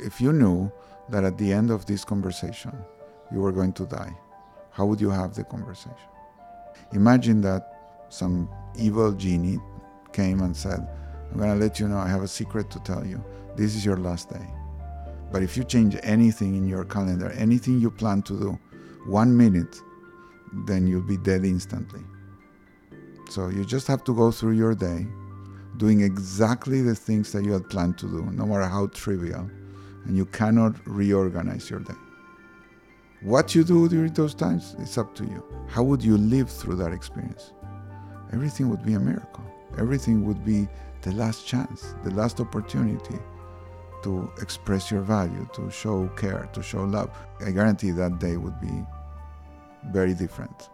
if you knew that at the end of this conversation you were going to die, how would you have the conversation? Imagine that some evil genie came and said, I'm going to let you know, I have a secret to tell you. This is your last day. But if you change anything in your calendar, anything you plan to do, 1 minute, then you'll be dead instantly. So you just have to go through your day doing exactly the things that you had planned to do, no matter how trivial, and you cannot reorganize your day. What you do during those times, it's up to you. How would you live through that experience? Everything would be a miracle. Everything would be the last chance, the last opportunity to express your value, to show care, to show love. I guarantee that day would be very different.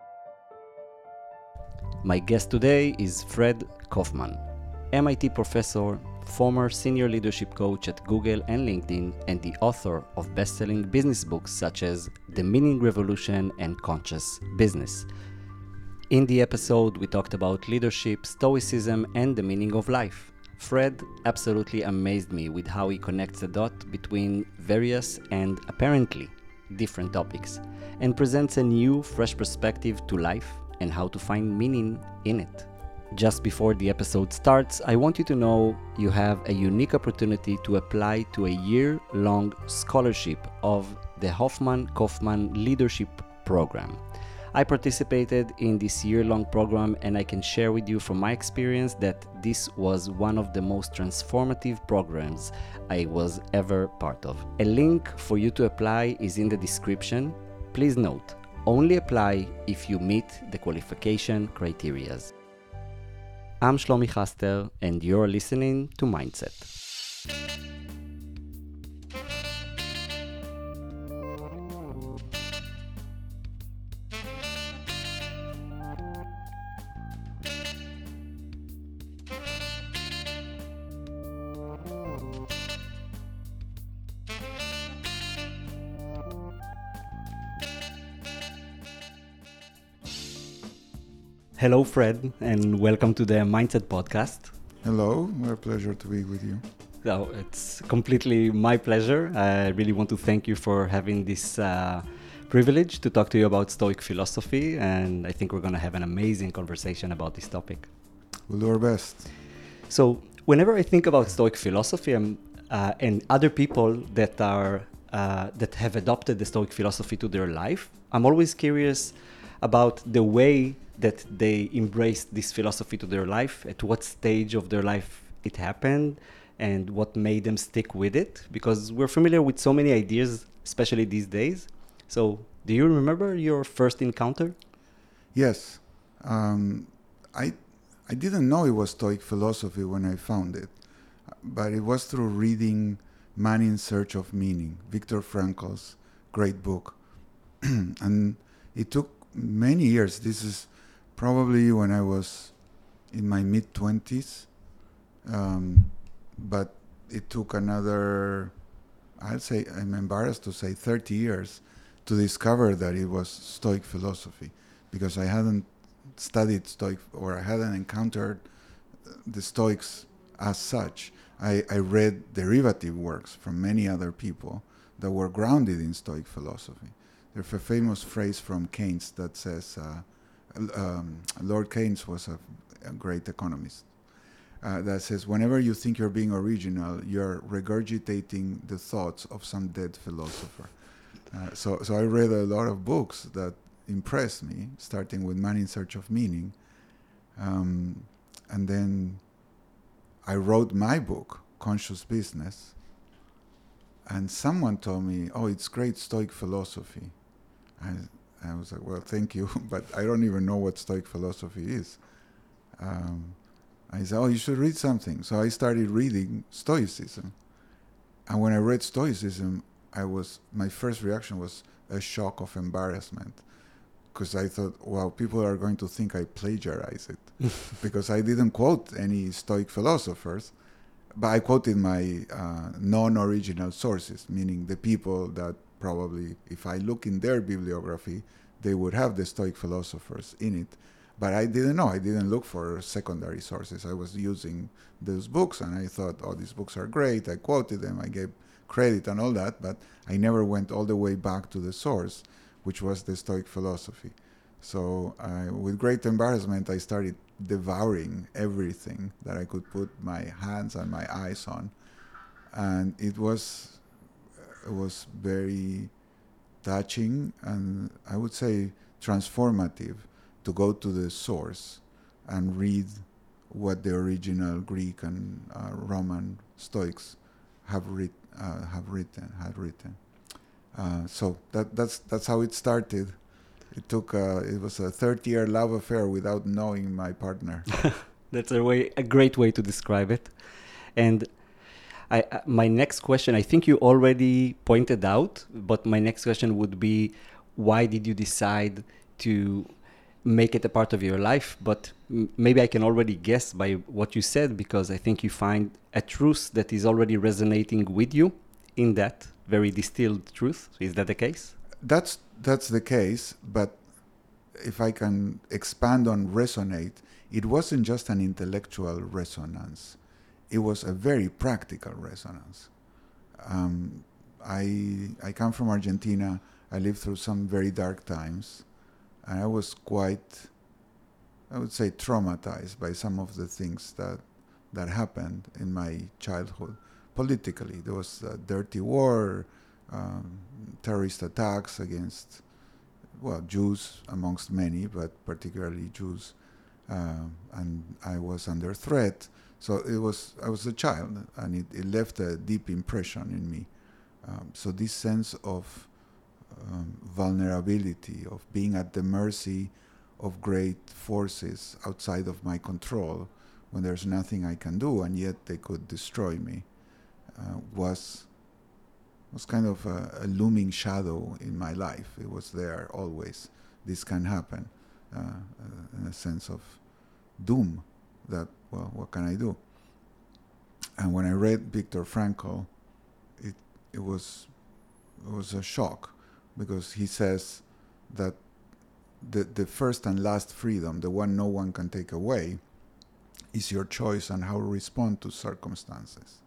My guest today is Fred Kofman, MIT professor, former senior leadership coach at Google and LinkedIn, and the author of best-selling business books such as The Meaning Revolution and Conscious Business. In the episode, we talked about leadership, stoicism, and the meaning of life. Fred absolutely amazed me with how he connects the dot between various and apparently different topics and presents a new, fresh perspective to life and how to find meaning in it. Just before the episode starts, I want you to know you have a unique opportunity to apply to a year-long scholarship of the Hoffman Kofman Leadership Program. I participated in this year-long program, and I can share with you from my experience that this was one of the most transformative programs I was ever part of. A link for you to apply is in the description. Please note, only apply if you meet the qualification criteria. I'm Shlomi Chaster, and you're listening to Mindset. Hello, Fred, and welcome to the Mindset Podcast. Hello, what a pleasure to be with you. So it's completely my pleasure. I really want to thank you for having this privilege to talk to you about Stoic philosophy, and I think we're going to have an amazing conversation about this topic. We'll do our best. So whenever I think about Stoic philosophy and other people that have adopted the Stoic philosophy to their life, I'm always curious about the way that they embraced this philosophy to their life, at what stage of their life it happened, and what made them stick with it, because we're familiar with so many ideas, especially these days. So do you remember your first encounter? Yes. I didn't know it was Stoic philosophy when I found it, but it was through reading Man in Search of Meaning, Viktor Frankl's great book. And it took many years. This is probably when I was in my mid-20s, but it took another, I'll say, I'm embarrassed to say 30 years to discover that it was Stoic philosophy, because I hadn't studied Stoic, or I hadn't encountered the Stoics as such. I read derivative works from many other people that were grounded in Stoic philosophy. There's a famous phrase from Keynes that says, Lord Keynes was a great economist, that says, whenever you think you're being original, you're regurgitating the thoughts of some dead philosopher. So I read a lot of books that impressed me, starting with Man in Search of Meaning. And then I wrote my book, Conscious Business. And someone told me, oh, it's great Stoic philosophy. I was like, well, thank you, but I don't even know what Stoic philosophy is. I said, oh, you should read something. So I started reading Stoicism. And when I read Stoicism, my first reaction was a shock of embarrassment, because I thought, wow, people are going to think I plagiarize it, because I didn't quote any Stoic philosophers, but I quoted my non-original sources, meaning the people that probably, if I look in their bibliography, they would have the Stoic philosophers in it. But I didn't know. I didn't look for secondary sources. I was using those books, and I thought, oh, these books are great. I quoted them. I gave credit and all that, but I never went all the way back to the source, which was the Stoic philosophy. So with great embarrassment, I started devouring everything that I could put my hands and my eyes on. And it was very touching and I would say transformative to go to the source and read what the original Greek and Roman Stoics had written. So that's how it started. It took it was a 30-year love affair without knowing my partner. That's a great way to describe it. And my next question, I think you already pointed out, but my next question would be, why did you decide to make it a part of your life? But maybe I can already guess by what you said, because I think you find a truth that is already resonating with you in that very distilled truth. Is that the case? That's the case, but if I can expand on resonate, it wasn't just an intellectual resonance. It was a very practical resonance. I come from Argentina. I lived through some very dark times, and I was quite, I would say, traumatized by some of the things that happened in my childhood. Politically, there was a dirty war, terrorist attacks against, well, Jews amongst many, but particularly Jews, and I was under threat. So I was a child, and it left a deep impression in me. So this sense of vulnerability, of being at the mercy of great forces outside of my control, when there's nothing I can do, and yet they could destroy me, was kind of a looming shadow in my life. It was there always. This can happen, in a sense of doom. That, well, what can I do? And when I read Viktor Frankl, it was a shock, because he says that the first and last freedom, the one no one can take away, is your choice on how to respond to circumstances,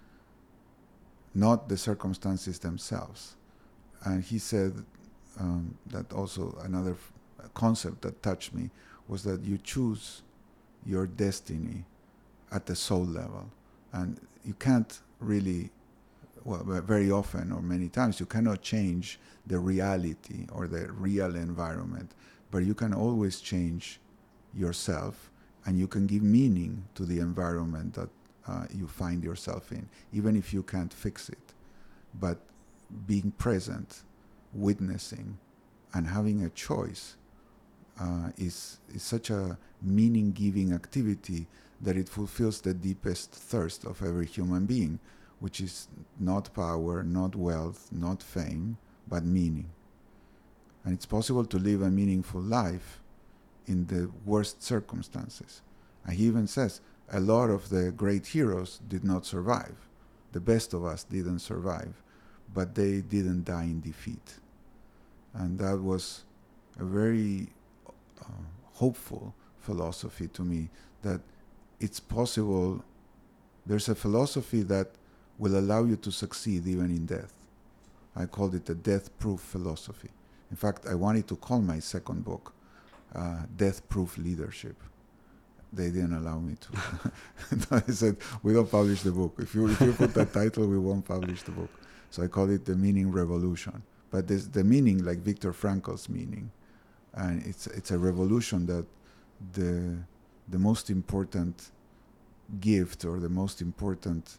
not the circumstances themselves. And he said that also another concept that touched me was that you choose your destiny at the soul level, and you can't really, well, very often or many times you cannot change the reality or the real environment, but you can always change yourself, and you can give meaning to the environment that you find yourself in, even if you can't fix it. But being present, witnessing, and having a choice is such a meaning-giving activity that it fulfills the deepest thirst of every human being, which is not power, not wealth, not fame, but meaning. And it's possible to live a meaningful life in the worst circumstances. And he even says, a lot of the great heroes did not survive. The best of us didn't survive, but they didn't die in defeat. And that was a very hopeful philosophy to me, that it's possible. There's a philosophy that will allow you to succeed even in death. I called it the death-proof philosophy. In fact, I wanted to call my second book Death-Proof Leadership. They didn't allow me to. I said, we don't publish the book. If you put that title, we won't publish the book. So I call it The Meaning Revolution. But there's the meaning like Viktor Frankl's meaning. And it's a revolution that the most important gift or the most important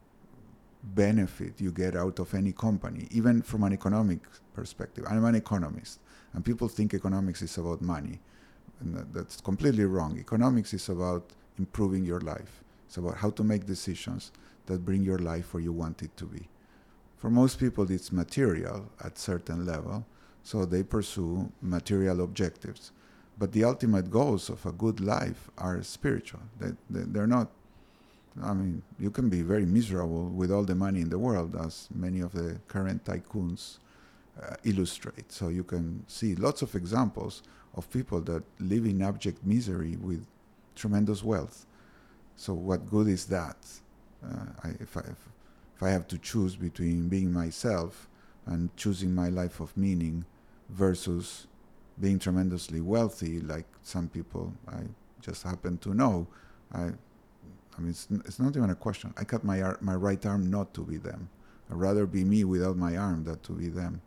benefit you get out of any company, even from an economic perspective. I'm an economist, and people think economics is about money. And that's completely wrong. Economics is about improving your life. It's about how to make decisions that bring your life where you want it to be. For most people, it's material at certain level, so they pursue material objectives. But the ultimate goals of a good life are spiritual. They're not, I mean, you can be very miserable with all the money in the world, as many of the current tycoons illustrate. So you can see lots of examples of people that live in abject misery with tremendous wealth. So what good is that? If if I have to choose between being myself and choosing my life of meaning versus being tremendously wealthy, like some people I just happen to know, I mean, it's not even a question. I cut my right arm not to be them. I'd rather be me without my arm than to be them.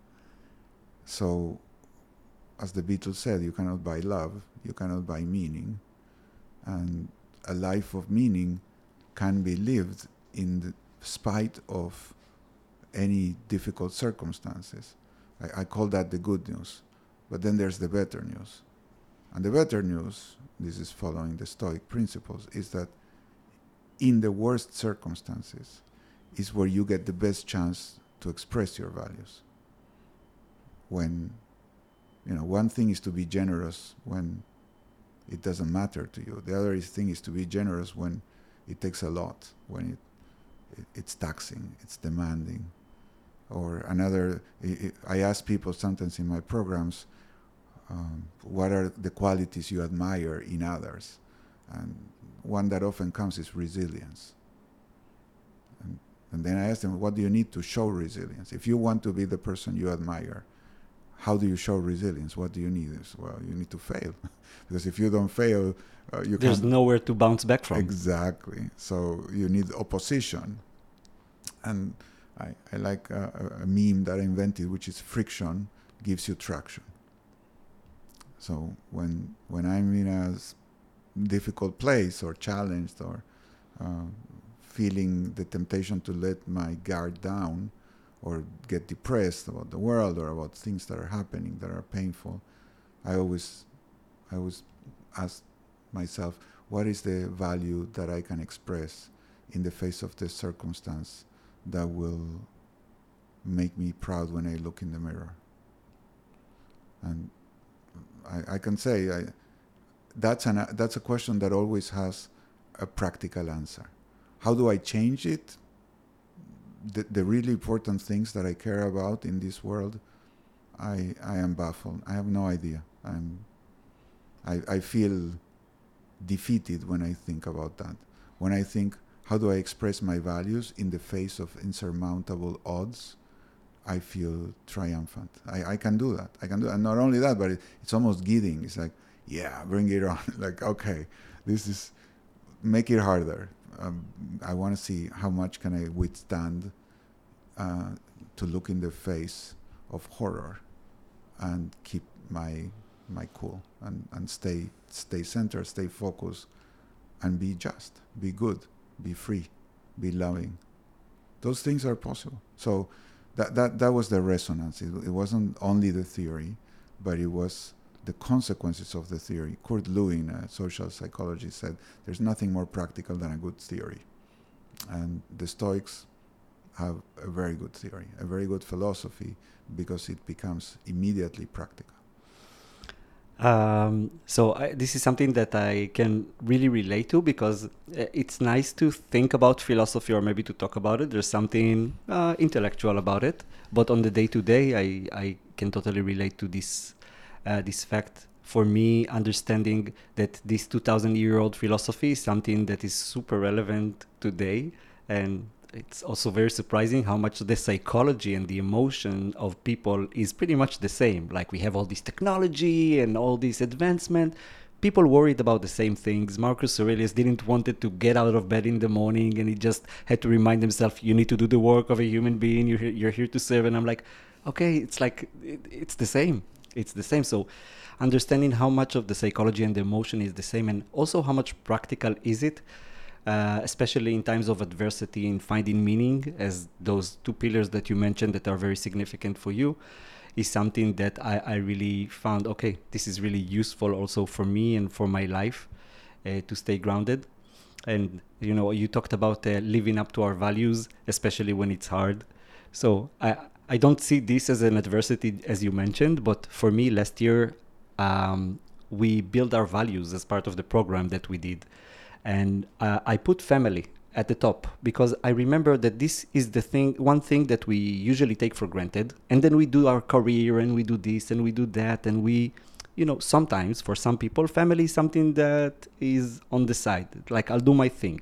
So, as the Beatles said, you cannot buy love, you cannot buy meaning. And a life of meaning can be lived in spite of any difficult circumstances. I call that the good news. But then there's the better news. And the better news, this is following the Stoic principles, is that in the worst circumstances is where you get the best chance to express your values. When, one thing is to be generous when it doesn't matter to you. The other thing is to be generous when it takes a lot, when it's taxing, it's demanding. Or another, I ask people sometimes in my programs, what are the qualities you admire in others? And one that often comes is resilience. And then I ask them, what do you need to show resilience? If you want to be the person you admire, how do you show resilience? What do you need? Well, you need to fail. Because if you don't fail, there's nowhere to bounce back from. Exactly. So you need opposition. And I like a meme that I invented, which is friction gives you traction. So when I'm in a difficult place or challenged or feeling the temptation to let my guard down or get depressed about the world or about things that are happening that are painful, I always ask myself, what is the value that I can express in the face of this circumstance that will make me proud when I look in the mirror? And I can say that's a question that always has a practical answer. How do I change it? The really important things that I care about in this world, I am baffled. I have no idea. I feel defeated when I think about that. When I think, how do I express my values in the face of insurmountable odds? I feel triumphant. I can do that. And not only that, but it's almost giddying. It's like, yeah, bring it on. Like, okay, make it harder. I want to see how much can I withstand to look in the face of horror and keep my cool and stay centered, stay focused, and be just, be good, be free, be loving. Those things are possible. So that was the resonance. It wasn't only the theory, but it was the consequences of the theory. Kurt Lewin, a social psychologist, said there's nothing more practical than a good theory. And the Stoics have a very good theory, a very good philosophy, because it becomes immediately practical. This is something that I can really relate to, because it's nice to think about philosophy or maybe to talk about it. There's something intellectual about it, but on the day-to-day, I can totally relate to this fact. For me, understanding that this 2,000-year-old philosophy is something that is super relevant today, and it's also very surprising how much the psychology and the emotion of people is pretty much the same. Like, we have all this technology and all this advancement. People worried about the same things. Marcus Aurelius didn't want it to get out of bed in the morning, and he just had to remind himself, you need to do the work of a human being. You're here to serve. And I'm like, okay, it's like, it's the same. It's the same. So understanding how much of the psychology and the emotion is the same, and also how much practical is it, especially in times of adversity, in finding meaning, as those two pillars that you mentioned that are very significant for you, is something that I really found, okay, this is really useful also for me and for my life, to stay grounded. And, you talked about living up to our values, especially when it's hard. So I don't see this as an adversity, as you mentioned, but for me, last year, we built our values as part of the program that we did. And I put family at the top, because I remember that this is one thing that we usually take for granted. And then we do our career, and we do this and we do that. And we, sometimes for some people, family is something that is on the side. Like, I'll do my thing.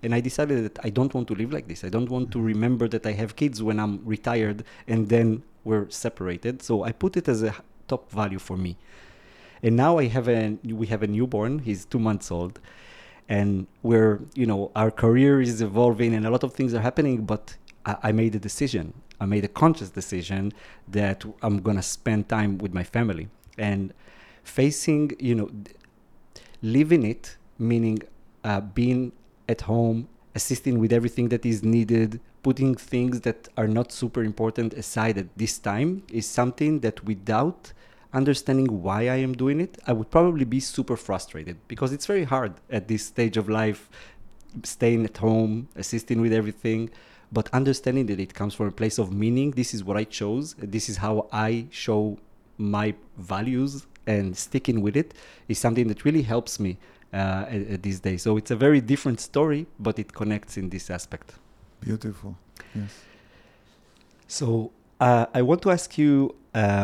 And I decided that I don't want to live like this. I don't want to remember that I have kids when I'm retired and then we're separated. So I put it as a top value for me. And now we have a newborn. He's 2 months old. And our career is evolving and a lot of things are happening, but I made a decision. I made a conscious decision that I'm going to spend time with my family. And facing, living it, meaning being at home, assisting with everything that is needed, putting things that are not super important aside at this time is something that without understanding why I am doing it, I would probably be super frustrated because it's very hard at this stage of life, staying at home, assisting with everything, but understanding that it comes from a place of meaning. This is what I chose. This is how I show my values, and sticking with it is something that really helps me at these days. So it's a very different story, but it connects in this aspect. Beautiful. Yes. So I want to ask you,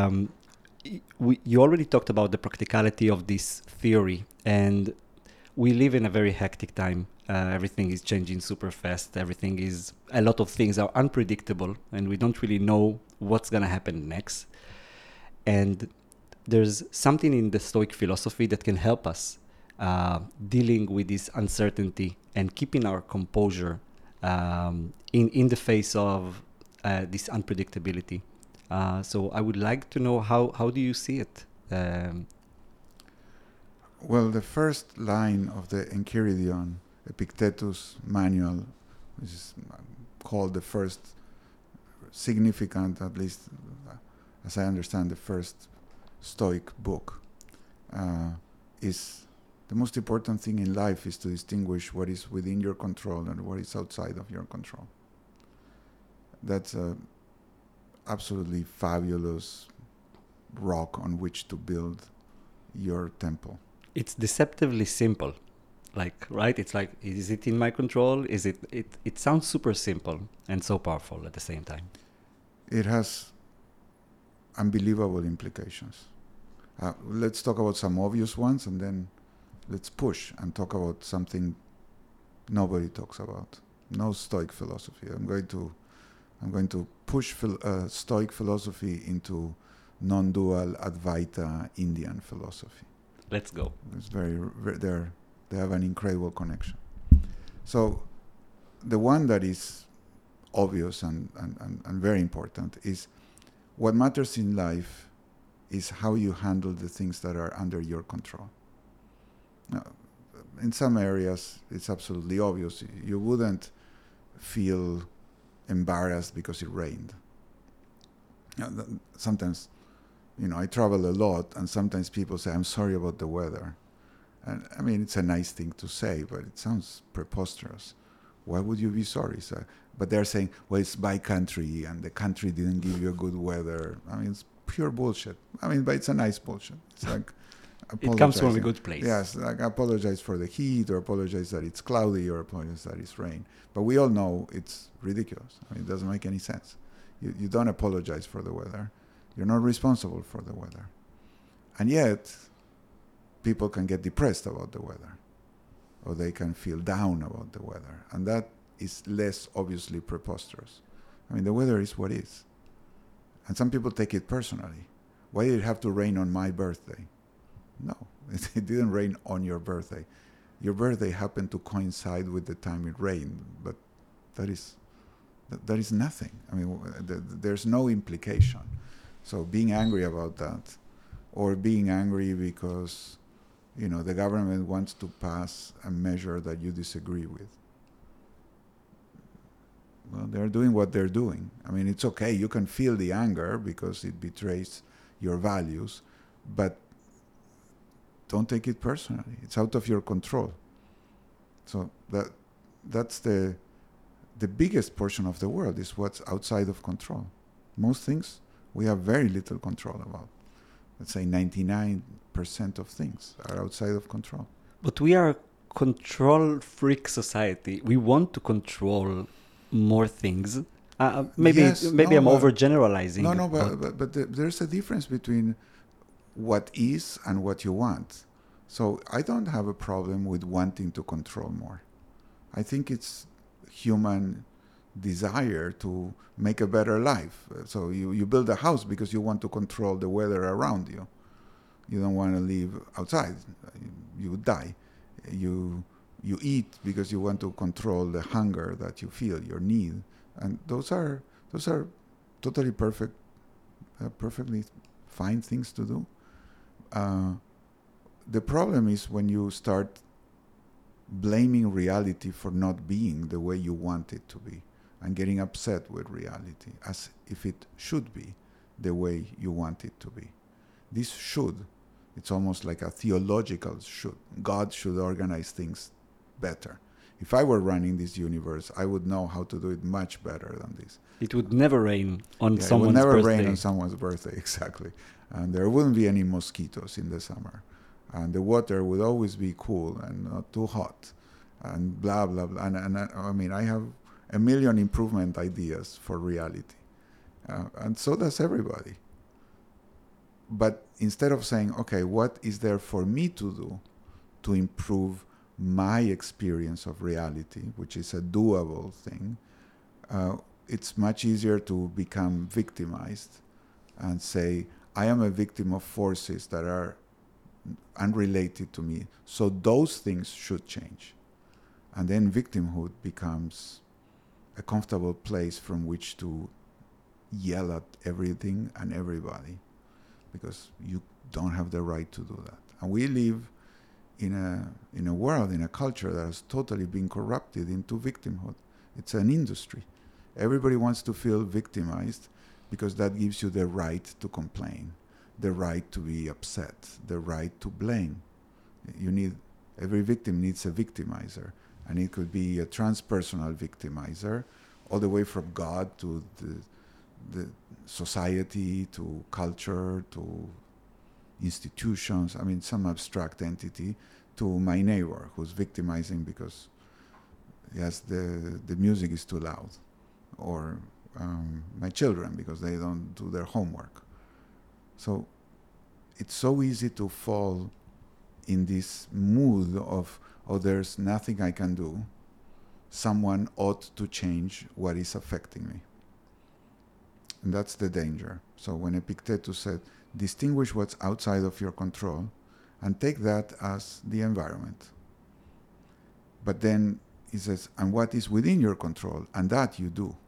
you already talked about the practicality of this theory, and we live in a very hectic time. Everything is changing super fast. A lot of things are unpredictable, and we don't really know what's going to happen next. And there's something in the Stoic philosophy that can help us dealing with this uncertainty and keeping our composure in the face of this unpredictability. So I would like to know how do you see it? Well, the first line of the Enchiridion, Epictetus manual, which is called the first significant, at least as I understand, the first Stoic book, is the most important thing in life is to distinguish what is within your control and what is outside of your control. That's a absolutely fabulous rock on which to build your temple. It's deceptively simple, right? It's like, is it in my control? It sounds super simple and so powerful at the same time. It has unbelievable implications. Let's talk about some obvious ones, and then let's push and talk about something nobody talks about. No Stoic philosophy. I'm going to push Stoic philosophy into non-dual Advaita Indian philosophy. Let's go. It's they have an incredible connection. So the one that is obvious and very important is what matters in life is how you handle the things that are under your control. Now, in some areas, it's absolutely obvious. You wouldn't feel embarrassed because it rained. Sometimes, I travel a lot, and sometimes people say, I'm sorry about the weather. And I mean, it's a nice thing to say, but it sounds preposterous. Why would you be sorry? But they're saying, well, it's by country, and the country didn't give you a good weather. I mean, it's pure bullshit. But it's a nice bullshit. It's like, it comes from a good place. Yes, like apologize for the heat, or apologize that it's cloudy, or apologize that it's rain. But we all know it's ridiculous. It doesn't make any sense. You don't apologize for the weather. You're not responsible for the weather. And yet, people can get depressed about the weather, or they can feel down about the weather. And that is less obviously preposterous. The weather is what is. And some people take it personally. Why did it have to rain on my birthday? No, it didn't rain on your birthday. Your birthday happened to coincide with the time it rained, but that is nothing. There's no implication. So being angry about that, or being angry because, the government wants to pass a measure that you disagree with. Well, they're doing what they're doing. It's okay. You can feel the anger because it betrays your values, but don't take it personally. It's out of your control. So that's the biggest portion of the world is what's outside of control. Most things we have very little control about. Let's say 99% of things are outside of control. But we are a control freak society. We want to control more things. Maybe I'm overgeneralizing. But there's a difference between what is and what you want. So I don't have a problem with wanting to control more. I think it's human desire to make a better life. So you build a house because you want to control the weather around you. You don't want to live outside. You would die. You eat because you want to control the hunger that you feel, your need, and those are totally perfectly fine things to do. The problem is when you start blaming reality for not being the way you want it to be, and getting upset with reality as if it should be the way you want it to be. This should, it's almost like a theological should. God should organize things better. If I were running this universe, I would know how to do it much better than this. It would never rain on someone's birthday. It would never rain on someone's birthday, exactly. And there wouldn't be any mosquitoes in the summer. And the water would always be cool and not too hot. And blah, blah, blah. And I mean, I have a million improvement ideas for reality. And so does everybody. But instead of saying, okay, what is there for me to do to improve my experience of reality, which is a doable thing, it's much easier to become victimized and say, I am a victim of forces that are unrelated to me, so those things should change. And then victimhood becomes a comfortable place from which to yell at everything and everybody, because you don't have the right to do that. And we live in a world, in a culture that has totally been corrupted into victimhood. It's an industry. Everybody wants to feel victimized because that gives you the right to complain, the right to be upset, the right to blame. Every victim needs a victimizer, and it could be a transpersonal victimizer, all the way from God to the society, to culture, to institutions, I mean some abstract entity, to my neighbor who's victimizing because yes, the music is too loud, or my children because they don't do their homework. So it's so easy to fall in this mood of, oh, there's nothing I can do. Someone ought to change what is affecting me. And that's the danger. So when Epictetus said, distinguish what's outside of your control and take that as the environment. But then he says, and what is within your control, and that you do.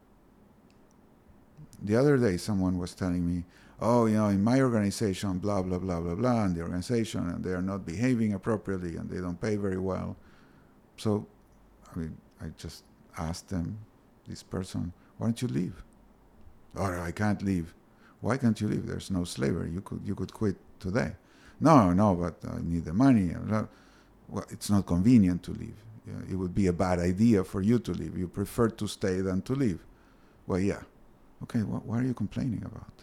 The other day someone was telling me, oh, in my organization, blah, blah, blah, blah, blah, and the organization, and they are not behaving appropriately, and they don't pay very well. So, I just asked them, this person, why don't you leave? Oh, I can't leave. Why can't you leave? There's no slavery. You could quit today. No, but I need the money. Well, it's not convenient to leave. It would be a bad idea for you to leave. You prefer to stay than to leave. Well, yeah. Okay, what are you complaining about?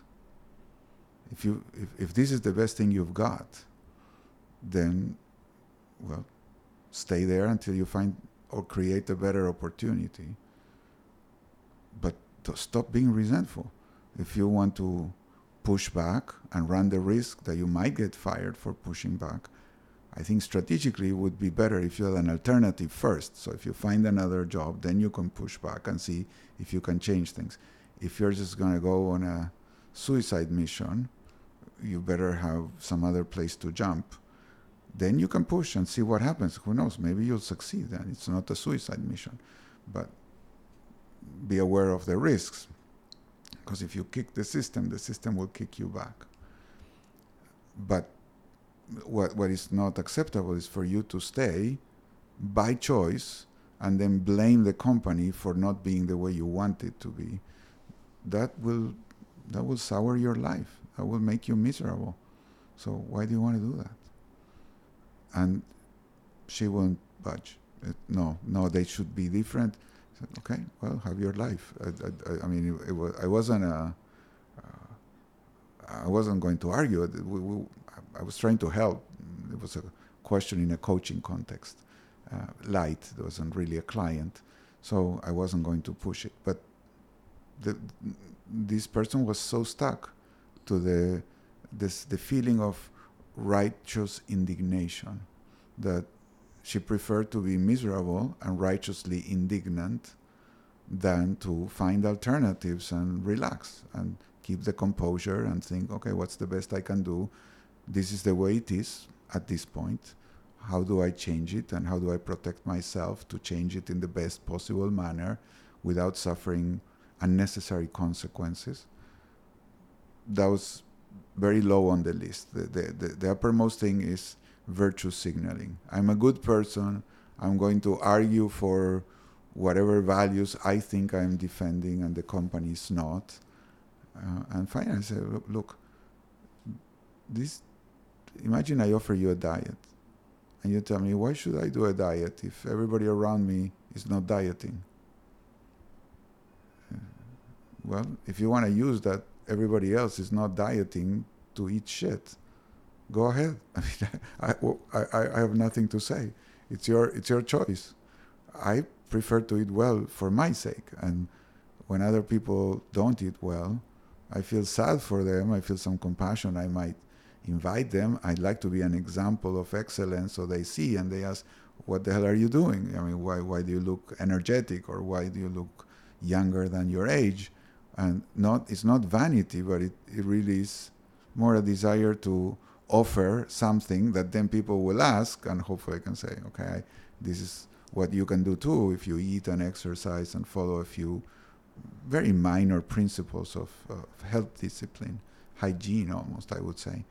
If this is the best thing you've got, then, well, stay there until you find or create a better opportunity. But stop being resentful. If you want to push back and run the risk that you might get fired for pushing back, I think strategically it would be better if you had an alternative first. So if you find another job, then you can push back and see if you can change things. If you're just going to go on a suicide mission, you better have some other place to jump. Then you can push and see what happens. Who knows? Maybe you'll succeed and it's not a suicide mission. But be aware of the risks. Because if you kick the system will kick you back. But what is not acceptable is for you to stay by choice and then blame the company for not being the way you want it to be. That will sour your life. That will make you miserable. So why do you want to do that? And she won't budge. No, they should be different. I said, okay, well, have your life. I wasn't going to argue. I was trying to help. It was a question in a coaching context. Light, there wasn't really a client. So I wasn't going to push it. But this person was so stuck to the feeling of righteous indignation that she preferred to be miserable and righteously indignant than to find alternatives and relax and keep the composure and think, okay, what's the best I can do? This is the way it is at this point. How do I change it, and how do I protect myself to change it in the best possible manner without suffering unnecessary consequences? That was very low on the list. The uppermost thing is virtue signaling. I'm a good person. I'm going to argue for whatever values I think I'm defending and the company is not. And finally I said, look, imagine I offer you a diet and you tell me, why should I do a diet if everybody around me is not dieting? Well, if you want to use that everybody else is not dieting to eat shit, go ahead. I mean, I have nothing to say. It's your choice. I prefer to eat well for my sake, and when other people don't eat well, I feel sad for them. I feel some compassion. I might invite them. I'd like to be an example of excellence, so they see and they ask, "What the hell are you doing? I mean, why do you look energetic, or why do you look younger than your age?" And it's not vanity, but it really is more a desire to offer something that then people will ask, and hopefully I can say, okay, this is what you can do too if you eat and exercise and follow a few very minor principles of health discipline, hygiene almost, I would say.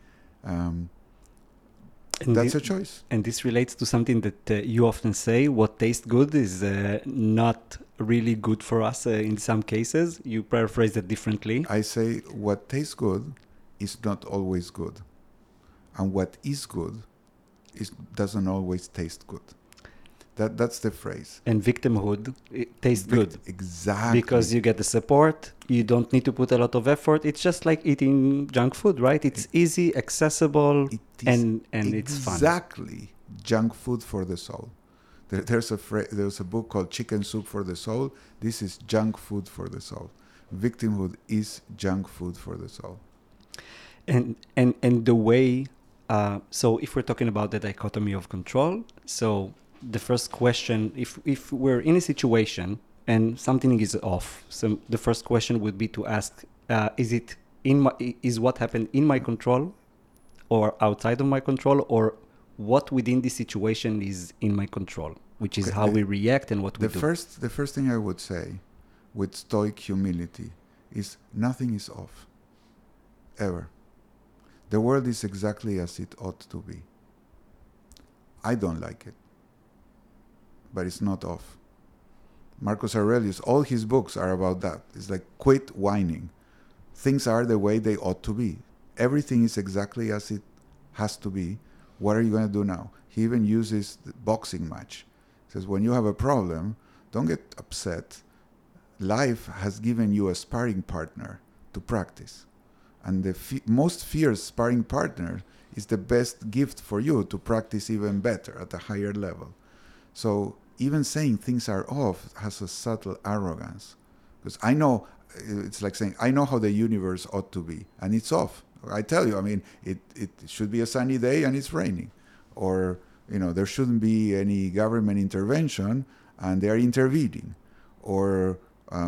That's a choice. And this relates to something that you often say: what tastes good is not really good for us in some cases. You paraphrase that differently. I say what tastes good is not always good. And what is good doesn't always taste good. That's the phrase. And victimhood, it tastes good. Exactly. Because you get the support, you don't need to put a lot of effort. It's just like eating junk food, right? It's easy, accessible, and it's fun. Exactly. Junk food for the soul. There's a book called Chicken Soup for the Soul. This is junk food for the soul. Victimhood is junk food for the soul. And the way, so if we're talking about the dichotomy of control, so the first question, if we're in a situation and something is off, so the first question would be to ask, is what happened in my control or outside of my control, or what within the situation is in my control, which is how we react and what we do. The first thing I would say with stoic humility is nothing is off, ever. The world is exactly as it ought to be. I don't like it, but it's not off. Marcus Aurelius, all his books are about that. It's like, quit whining. Things are the way they ought to be. Everything is exactly as it has to be. What are you going to do now? He even uses the boxing match. He says, when you have a problem, don't get upset. Life has given you a sparring partner to practice. And the most fierce sparring partner is the best gift for you to practice even better at a higher level. So even saying things are off has a subtle arrogance. Because I know, it's like saying, I know how the universe ought to be, and it's off. I tell you, I mean, it should be a sunny day and it's raining. Or, there shouldn't be any government intervention and they're intervening. Or,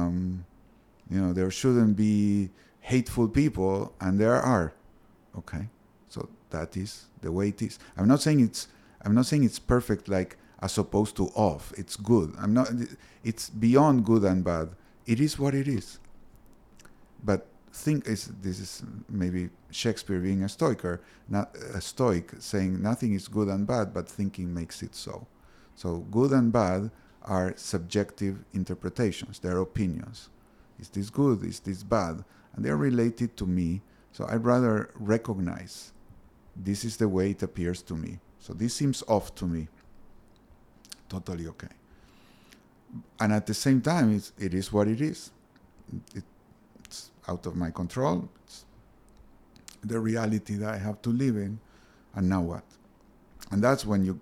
there shouldn't be hateful people and there are. Okay? So that is the way it is. I'm not saying it's perfect, like as opposed to off. It's good. It's beyond good and bad. It is what it is. But this is maybe Shakespeare being a stoic, saying nothing is good and bad, but thinking makes it so. So good and bad are subjective interpretations. They're opinions. Is this good? Is this bad? And they're related to me. So I'd rather recognize this is the way it appears to me. So this seems off to me. Totally okay. And at the same time, it is what it is. It's out of my control. It's the reality that I have to live in. And now what? And that's when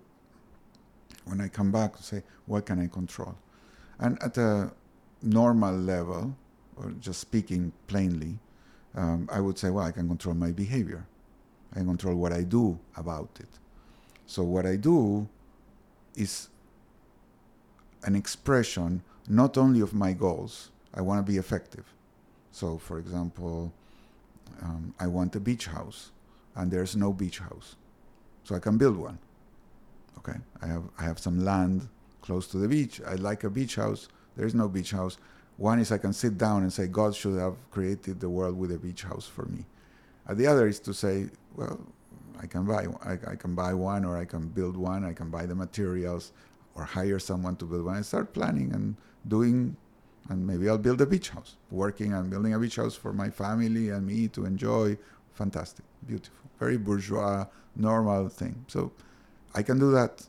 I come back to say, what can I control? And at a normal level, or just speaking plainly, I would say, well, I can control my behavior. I can control what I do about it. So what I do is an expression not only of my goals. I want to be effective. So, for example, I want a beach house, and there's no beach house, so I can build one. Okay, I have some land close to the beach. I like a beach house. There is no beach house. One is I can sit down and say God should have created the world with a beach house for me. And the other is to say, well, I can buy one, or I can build one. I can buy the materials, or hire someone to build one. I start planning and doing, and maybe I'll build a beach house. Working on building a beach house for my family and me to enjoy. Fantastic, beautiful, very bourgeois, normal thing. So I can do that.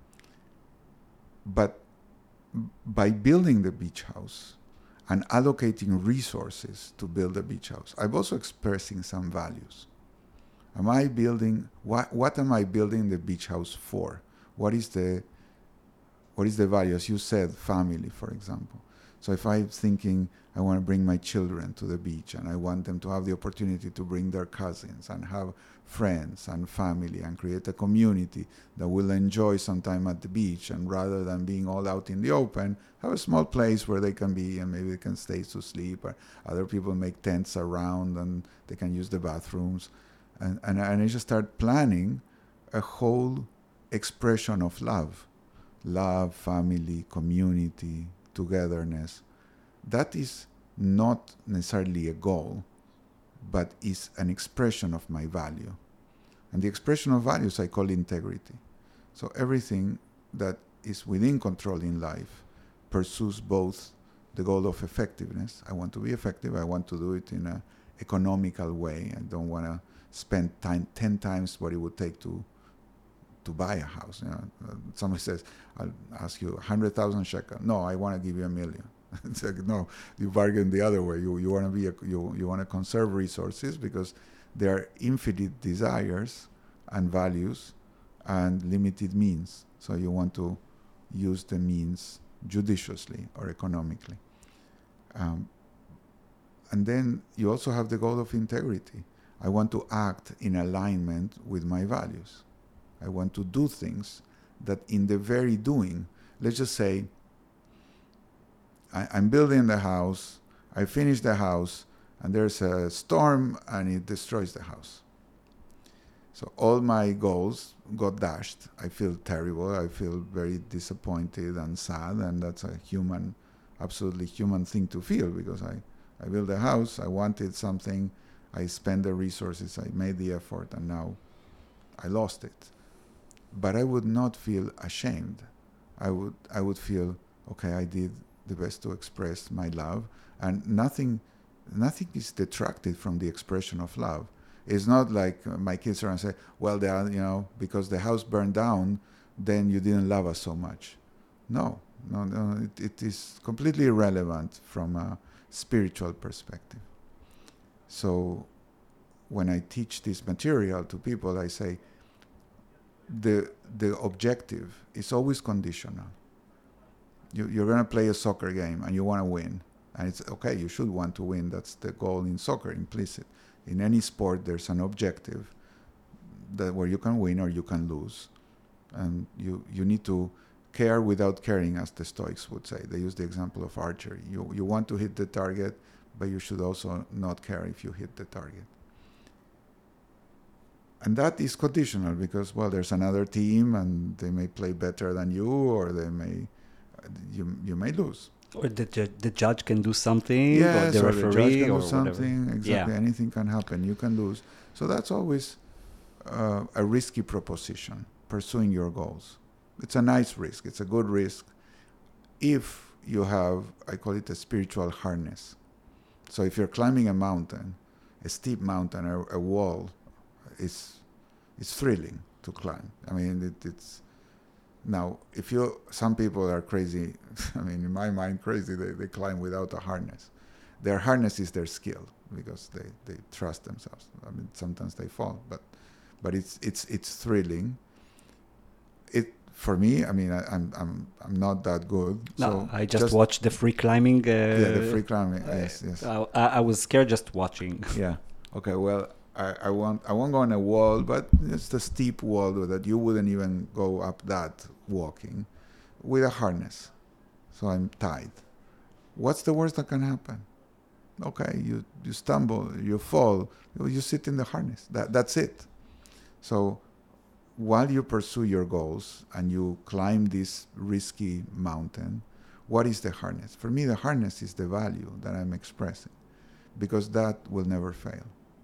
But by building the beach house and allocating resources to build a beach house, I'm also expressing some values. Am I building, what am I building the beach house for? What is the value? As you said, family, for example. So if I'm thinking I want to bring my children to the beach, and I want them to have the opportunity to bring their cousins and have friends and family and create a community that will enjoy some time at the beach, and rather than being all out in the open, have a small place where they can be, and maybe they can stay to sleep, or other people make tents around and they can use the bathrooms. And I just start planning a whole expression of love, family, community, togetherness. That is not necessarily a goal, but is an expression of my value. And the expression of values I call integrity. So everything that is within control in life pursues both the goal of effectiveness. I want to be effective. I want to do it in an economical way. I don't want to spend 10 times what it would take to buy a house. You know, somebody says, I'll ask you 100,000 shekel. No, I want to give you $1 million. It's like, no, you bargain the other way. You want to be you want to conserve resources, because there are infinite desires and values and limited means. So you want to use the means judiciously or economically. And then you also have the goal of integrity. I want to act in alignment with my values. I want to do things that in the very doing, let's just say, I'm building the house, I finish the house, and there's a storm and it destroys the house. So all my goals got dashed. I feel terrible. I feel very disappointed and sad, and that's a absolutely human thing to feel, because I built a house, I wanted something, I spent the resources, I made the effort, and now I lost it. But I would not feel ashamed. I would feel, okay, I did the best to express my love, and nothing is detracted from the expression of love. It's not like my kids are and say, well, because the house burned down, then you didn't love us so much. No, it is completely irrelevant from a spiritual perspective. So when I teach this material to people, I say the objective is always conditional. You're going to play a soccer game and you want to win. And it's okay, you should want to win. That's the goal in soccer, implicit. In any sport, there's an objective where you can win or you can lose. And you need to care without caring, as the Stoics would say. They use the example of archery. You want to hit the target, but you should also not care if you hit the target. And that is conditional because, well, there's another team and they may play better than you, or you may lose. Or the judge can do something, yes, or the referee, the judge can or do something. whatever. Exactly, Yeah. anything can happen. You can lose. So that's always a risky proposition, pursuing your goals. It's a nice risk. It's a good risk if you have, I call it a spiritual harness. So if you're climbing a mountain, a steep mountain, a wall, it's thrilling to climb. I mean, it's now, some people are crazy, I mean, in my mind, crazy, they climb without a harness. Their harness is their skill because they trust themselves. I mean, sometimes they fall, but it's thrilling. For me, I mean, I'm not that good. No, so I just watched the free climbing. The free climbing, yes. I was scared just watching. Yeah. Okay, well, I won't go on a wall, but it's the steep wall that you wouldn't even go up that walking with a harness. So I'm tied. What's the worst that can happen? Okay, you stumble, you fall, you sit in the harness. That's it. So while you pursue your goals and you climb this risky mountain, what is the harness? For me, the harness is the value that I'm expressing, because that will never fail.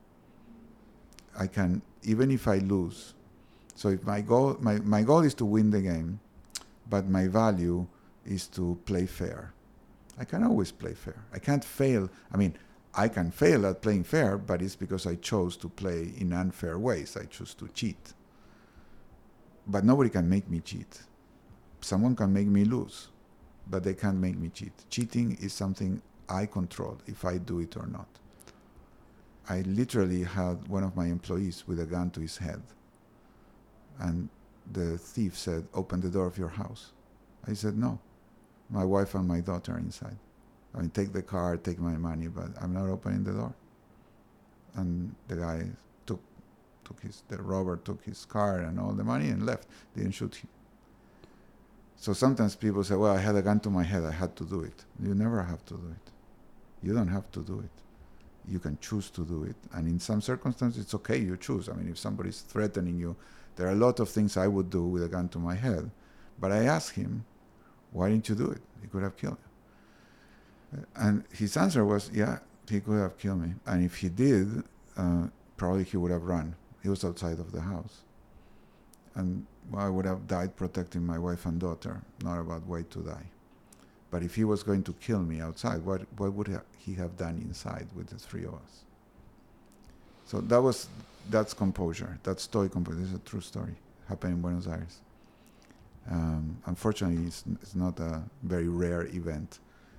I can, even if I lose. So if my goal is to win the game, but my value is to play fair. I can always play fair. I can't fail. I mean, I can fail at playing fair, but it's because I chose to play in unfair ways. I choose to cheat. But nobody can make me cheat. Someone can make me lose, but they can't make me cheat. Cheating is something I control, if I do it or not. I literally had one of my employees with a gun to his head, and the thief said, "Open the door of your house." I said, "No, my wife and my daughter are inside. I mean, take the car, take my money, but I'm not opening the door." And the guy the robber took his car and all the money and left. Didn't shoot him. So sometimes people say, "Well, I had a gun to my head, I had to do it." You never have to do it. You don't have to do it. You can choose to do it. And in some circumstances, it's okay, you choose. I mean, if somebody's threatening you, there are a lot of things I would do with a gun to my head. But I asked him, "Why didn't you do it? He could have killed you." And his answer was, "Yeah, he could have killed me. And if he did, probably he would have run. He was outside of the house. And I would have died protecting my wife and daughter, not about wait to die. But if he was going to kill me outside, what would he have done inside with the three of us?" So that's composure. That's stoic composure. This is a true story. Happened in Buenos Aires. Unfortunately, it's not a very rare event.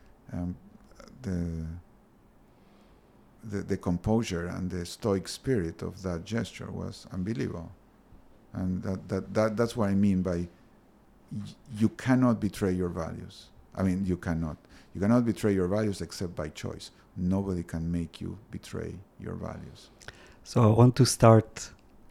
The composure and the stoic spirit of that gesture was unbelievable. And that's what I mean by you cannot betray your values. I mean, you cannot betray your values except by choice. Nobody can make you betray your values. So I want to start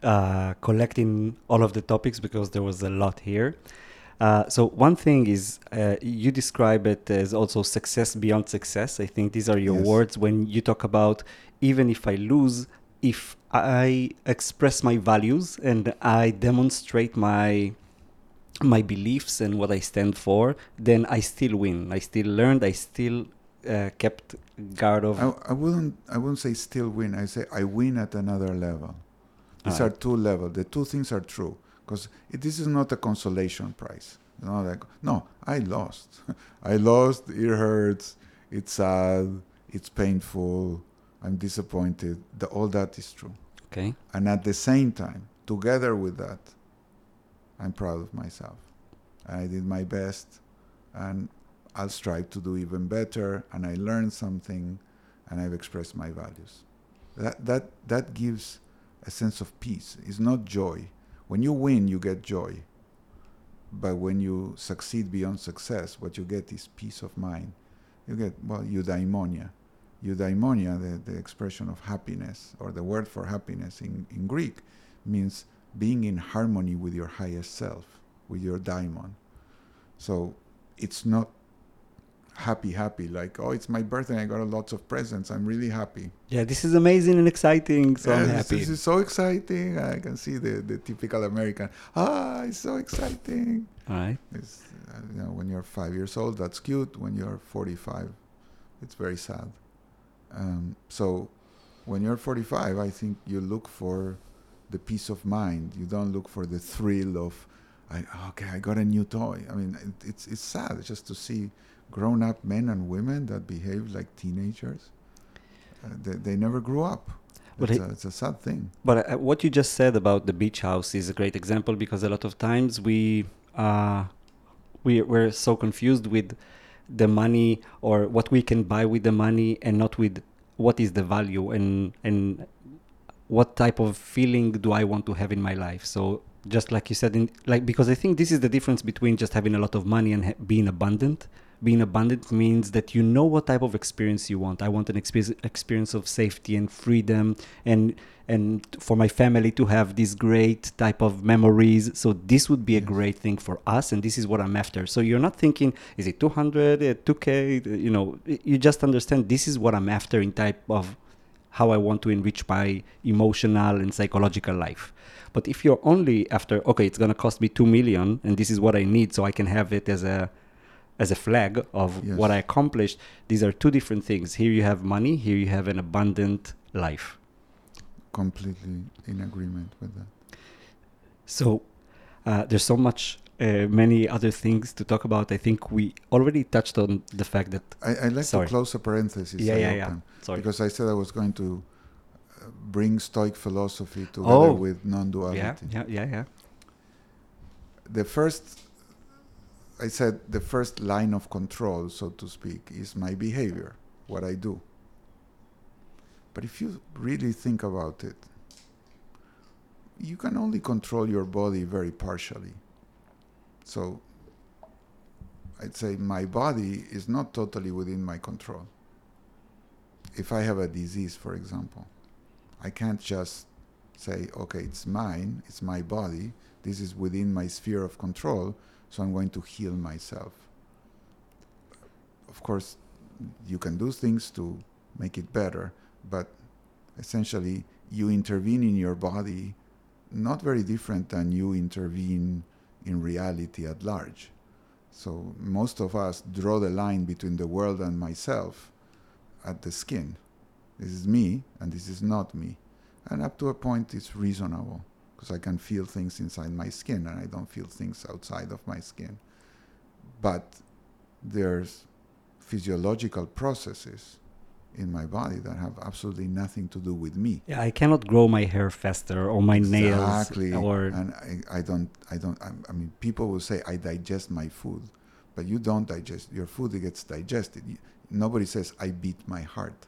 collecting all of the topics because there was a lot here. So one thing is you describe it as also success beyond success. I think these are your words when you talk about even if I lose, if I express my values and I demonstrate my beliefs and what I stand for, then I still win. I still learned. I still kept guard of. I wouldn't say still win. I say I win at another level. These are two levels. The two things are true. Because this is not a consolation prize. You know, like, no, I lost. I lost, it hurts, it's sad, it's painful, I'm disappointed. All that is true. Okay. And at the same time, together with that, I'm proud of myself. I did my best, and I'll strive to do even better, and I learned something, and I've expressed my values. That gives a sense of peace. It's not joy. When you win, you get joy. But when you succeed beyond success, what you get is peace of mind. You get, eudaimonia. Eudaimonia, the expression of happiness, or the word for happiness in Greek, means being in harmony with your highest self, with your daimon. So it's not happy, like, oh, it's my birthday, I got lots of presents, I'm really happy. Yeah, this is amazing and exciting, so I'm happy. This is so exciting. I can see the typical American, it's so exciting. All right. It's, when you're 5 years old, that's cute. When you're 45, it's very sad. So when you're 45, I think you look for the peace of mind. You don't look for the thrill of, I got a new toy. I mean, it's sad just to see grown-up men and women that behave like teenagers. They never grew up. It's a sad thing. But what you just said about the beach house is a great example, because a lot of times we're so confused with the money or what we can buy with the money, and not with what is the value and what type of feeling do I want to have in my life. So just like you said, because I think this is the difference between just having a lot of money and being abundant. being abundant means that you know what type of experience you want. I want an experience of safety and freedom, and for my family to have these great type of memories. So this would be a great thing for us, and this is what I'm after. So you're not thinking, is it 200, 2K? You know, you just understand this is what I'm after in type of how I want to enrich my emotional and psychological life. But if you're only after, okay, it's going to cost me 2 million and this is what I need so I can have it as a flag of what I accomplished, these are two different things. Here you have money, here you have an abundant life. Completely in agreement with that. So there's so much, many other things to talk about. I think we already touched on the fact that... I'd like to close a parenthesis. Yeah. Sorry. Because I said I was going to bring Stoic philosophy together with non-duality. Yeah. The first line of control, so to speak, is my behavior, what I do. But if you really think about it, you can only control your body very partially. So I'd say my body is not totally within my control. If I have a disease, for example, I can't just say, okay, it's mine, it's my body, this is within my sphere of control, so I'm going to heal myself. Of course, you can do things to make it better, but essentially you intervene in your body not very different than you intervene in reality at large. So most of us draw the line between the world and myself at the skin. This is me and this is not me. And up to a point it's reasonable because I can feel things inside my skin and I don't feel things outside of my skin. But there's physiological processes in my body that have absolutely nothing to do with me. Yeah, I cannot grow my hair faster or my nails. Exactly. And I mean, people will say, I digest my food. But you don't digest. Your food gets digested. Nobody says, I beat my heart.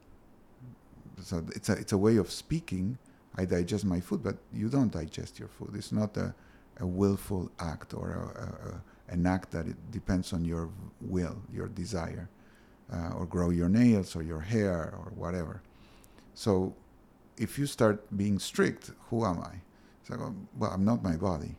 So it's a way of speaking. I digest my food, but you don't digest your food. It's not a willful act or an act that it depends on your will, your desire. Or grow your nails or your hair or whatever. So if you start being strict, who am I? So, well, I'm not my body.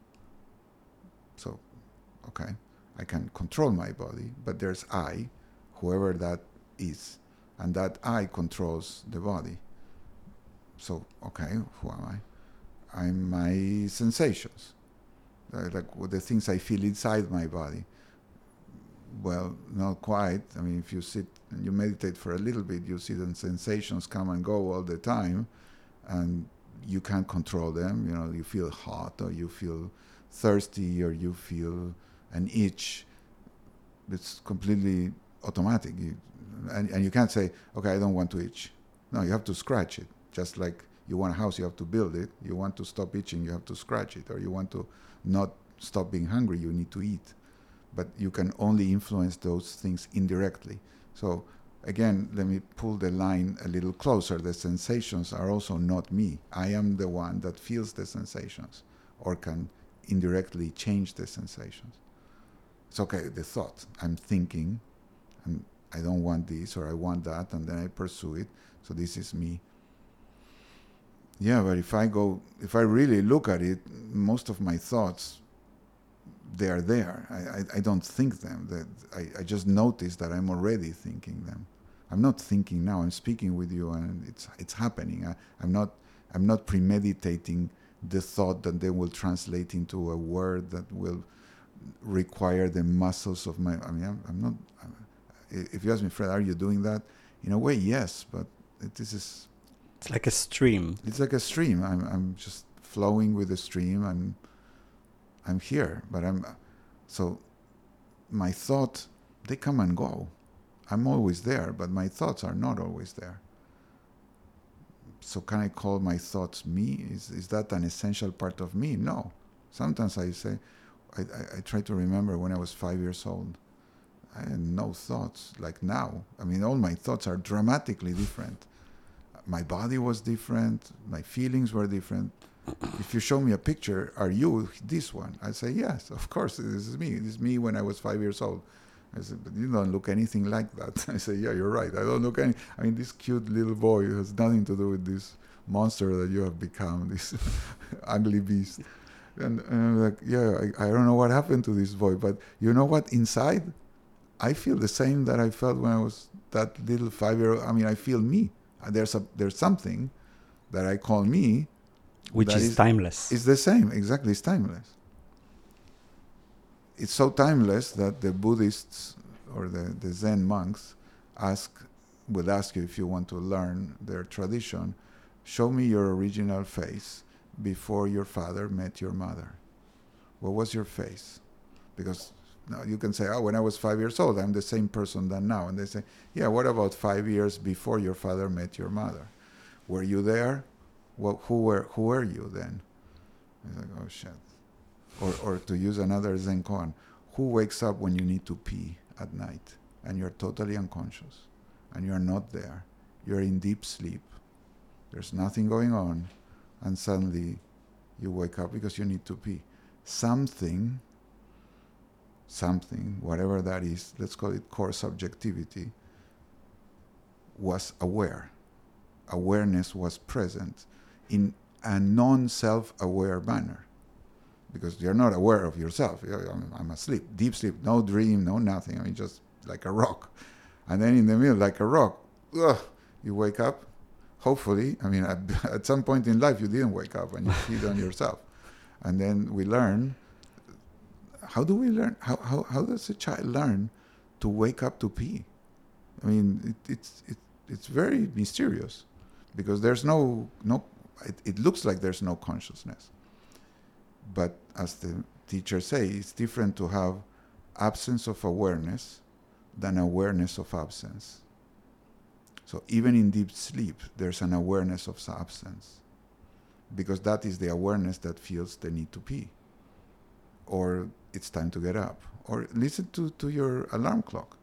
So, okay, I can control my body, but there's I, whoever that is, and that I controls the body. So, okay, who am I? I'm my sensations, like the things I feel inside my body. Well, not quite. I mean, if you sit and you meditate for a little bit, you see the sensations come and go all the time, and you can't control them. You know, you feel hot, or you feel thirsty, or you feel an itch. It's completely automatic. And you can't say, okay, I don't want to itch. No, you have to scratch it. Just like you want a house, you have to build it. You want to stop itching, you have to scratch it. Or you want to not stop being hungry, you need to eat. But you can only influence those things indirectly. So again, let me pull the line a little closer. The sensations are also not me. I am the one that feels the sensations or can indirectly change the sensations. It's okay, the thought. I'm thinking, and I don't want this or I want that, and then I pursue it. So this is me. Yeah, but if I really look at it, most of my thoughts, they are there. I don't think them. I just notice that I'm already thinking them. I'm not thinking now. I'm speaking with you, and it's happening. I'm not premeditating the thought that then will translate into a word that will require the muscles of my. I mean, I'm not. If you ask me, Fred, are you doing that? In a way, yes, but this is. It's like a stream. It's like a stream. I'm just flowing with the stream. I'm here, but so my thoughts, they come and go. I'm always there, but my thoughts are not always there. So can I call my thoughts me? Is that an essential part of me? No. Sometimes I say, I try to remember when I was 5 years old. I had no thoughts like now. I mean, all my thoughts are dramatically different. My body was different. My feelings were different. If you show me a picture, are you this one? I say, yes, of course, this is me. This is me when I was 5 years old. I said, but you don't look anything like that. I said, yeah, you're right. I don't look any. I mean, this cute little boy has nothing to do with this monster that you have become, this ugly beast. And I'm like, yeah, I don't know what happened to this boy, but you know what? Inside, I feel the same that I felt when I was that little 5-year-old. I mean, I feel me. There's something that I call me, which is timeless. It's the same, exactly. It's timeless. It's so timeless that the Buddhists or the Zen monks would ask you, if you want to learn their tradition, show me your original face before your father met your mother. What was your face? Because now you can say, oh, when I was 5 years old, I'm the same person than now. And they say, yeah, what about 5 years before your father met your mother? Were you there? Well, who were you then? It's like, oh, shit. Or to use another Zen koan, who wakes up when you need to pee at night and you're totally unconscious and you're not there? You're in deep sleep. There's nothing going on, and suddenly you wake up because you need to pee. Something, whatever that is, let's call it core subjectivity, was aware. Awareness was present in a non-self-aware manner. Because you're not aware of yourself. I'm asleep, deep sleep, no dream, no nothing. I mean, just like a rock. And then in the middle, like a rock, you wake up. Hopefully, I mean, at some point in life, you didn't wake up and you feed on yourself. And then we learn. How do we learn? How does a child learn to wake up to pee? I mean, it's very mysterious, because there's no. It looks like there's no consciousness. But as the teachers say, it's different to have absence of awareness than awareness of absence. So even in deep sleep, there's an awareness of absence, because that is the awareness that feels the need to pee, or it's time to get up, or listen to your alarm clock.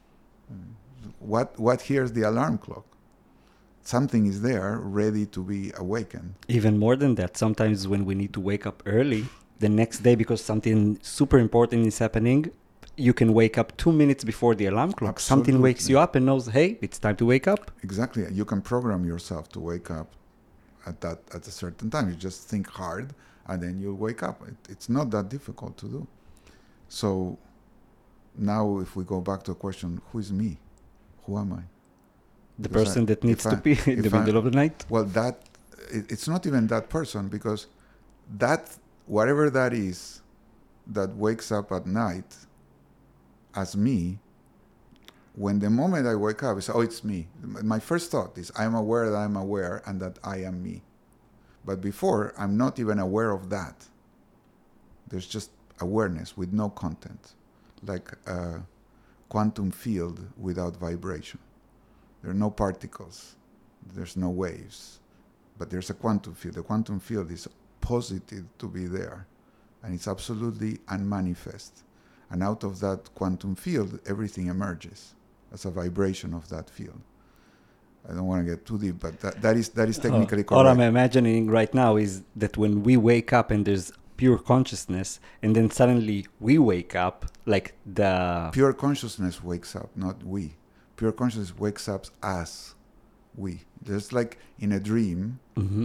What hears the alarm clock? Something is there ready to be awakened. Even more than that, sometimes when we need to wake up early the next day because something super important is happening, you can wake up 2 minutes before the alarm clock. Absolutely. Something wakes you up and knows, hey, it's time to wake up. Exactly. You can program yourself to wake up at a certain time. You just think hard and then you'll wake up. It's not that difficult to do. So now if we go back to a question, who is me? Who am I? The person that needs to pee in the middle of the night? Well, it's not even that person, because that, whatever that is, that wakes up at night as me, when the moment I wake up, it's, oh, it's me. My first thought is, I'm aware that I'm aware and that I am me. But before, I'm not even aware of that. There's just awareness with no content, like a quantum field without vibration. There are no particles, there's no waves, but there's a quantum field. The quantum field is posited to be there, and it's absolutely unmanifest. And out of that quantum field, everything emerges as a vibration of that field. I don't want to get too deep, but that is technically correct. All I'm imagining right now is that when we wake up and there's pure consciousness, and then suddenly we wake up, like the... Pure consciousness wakes up, not we. Pure consciousness wakes up as we. Just like in a dream,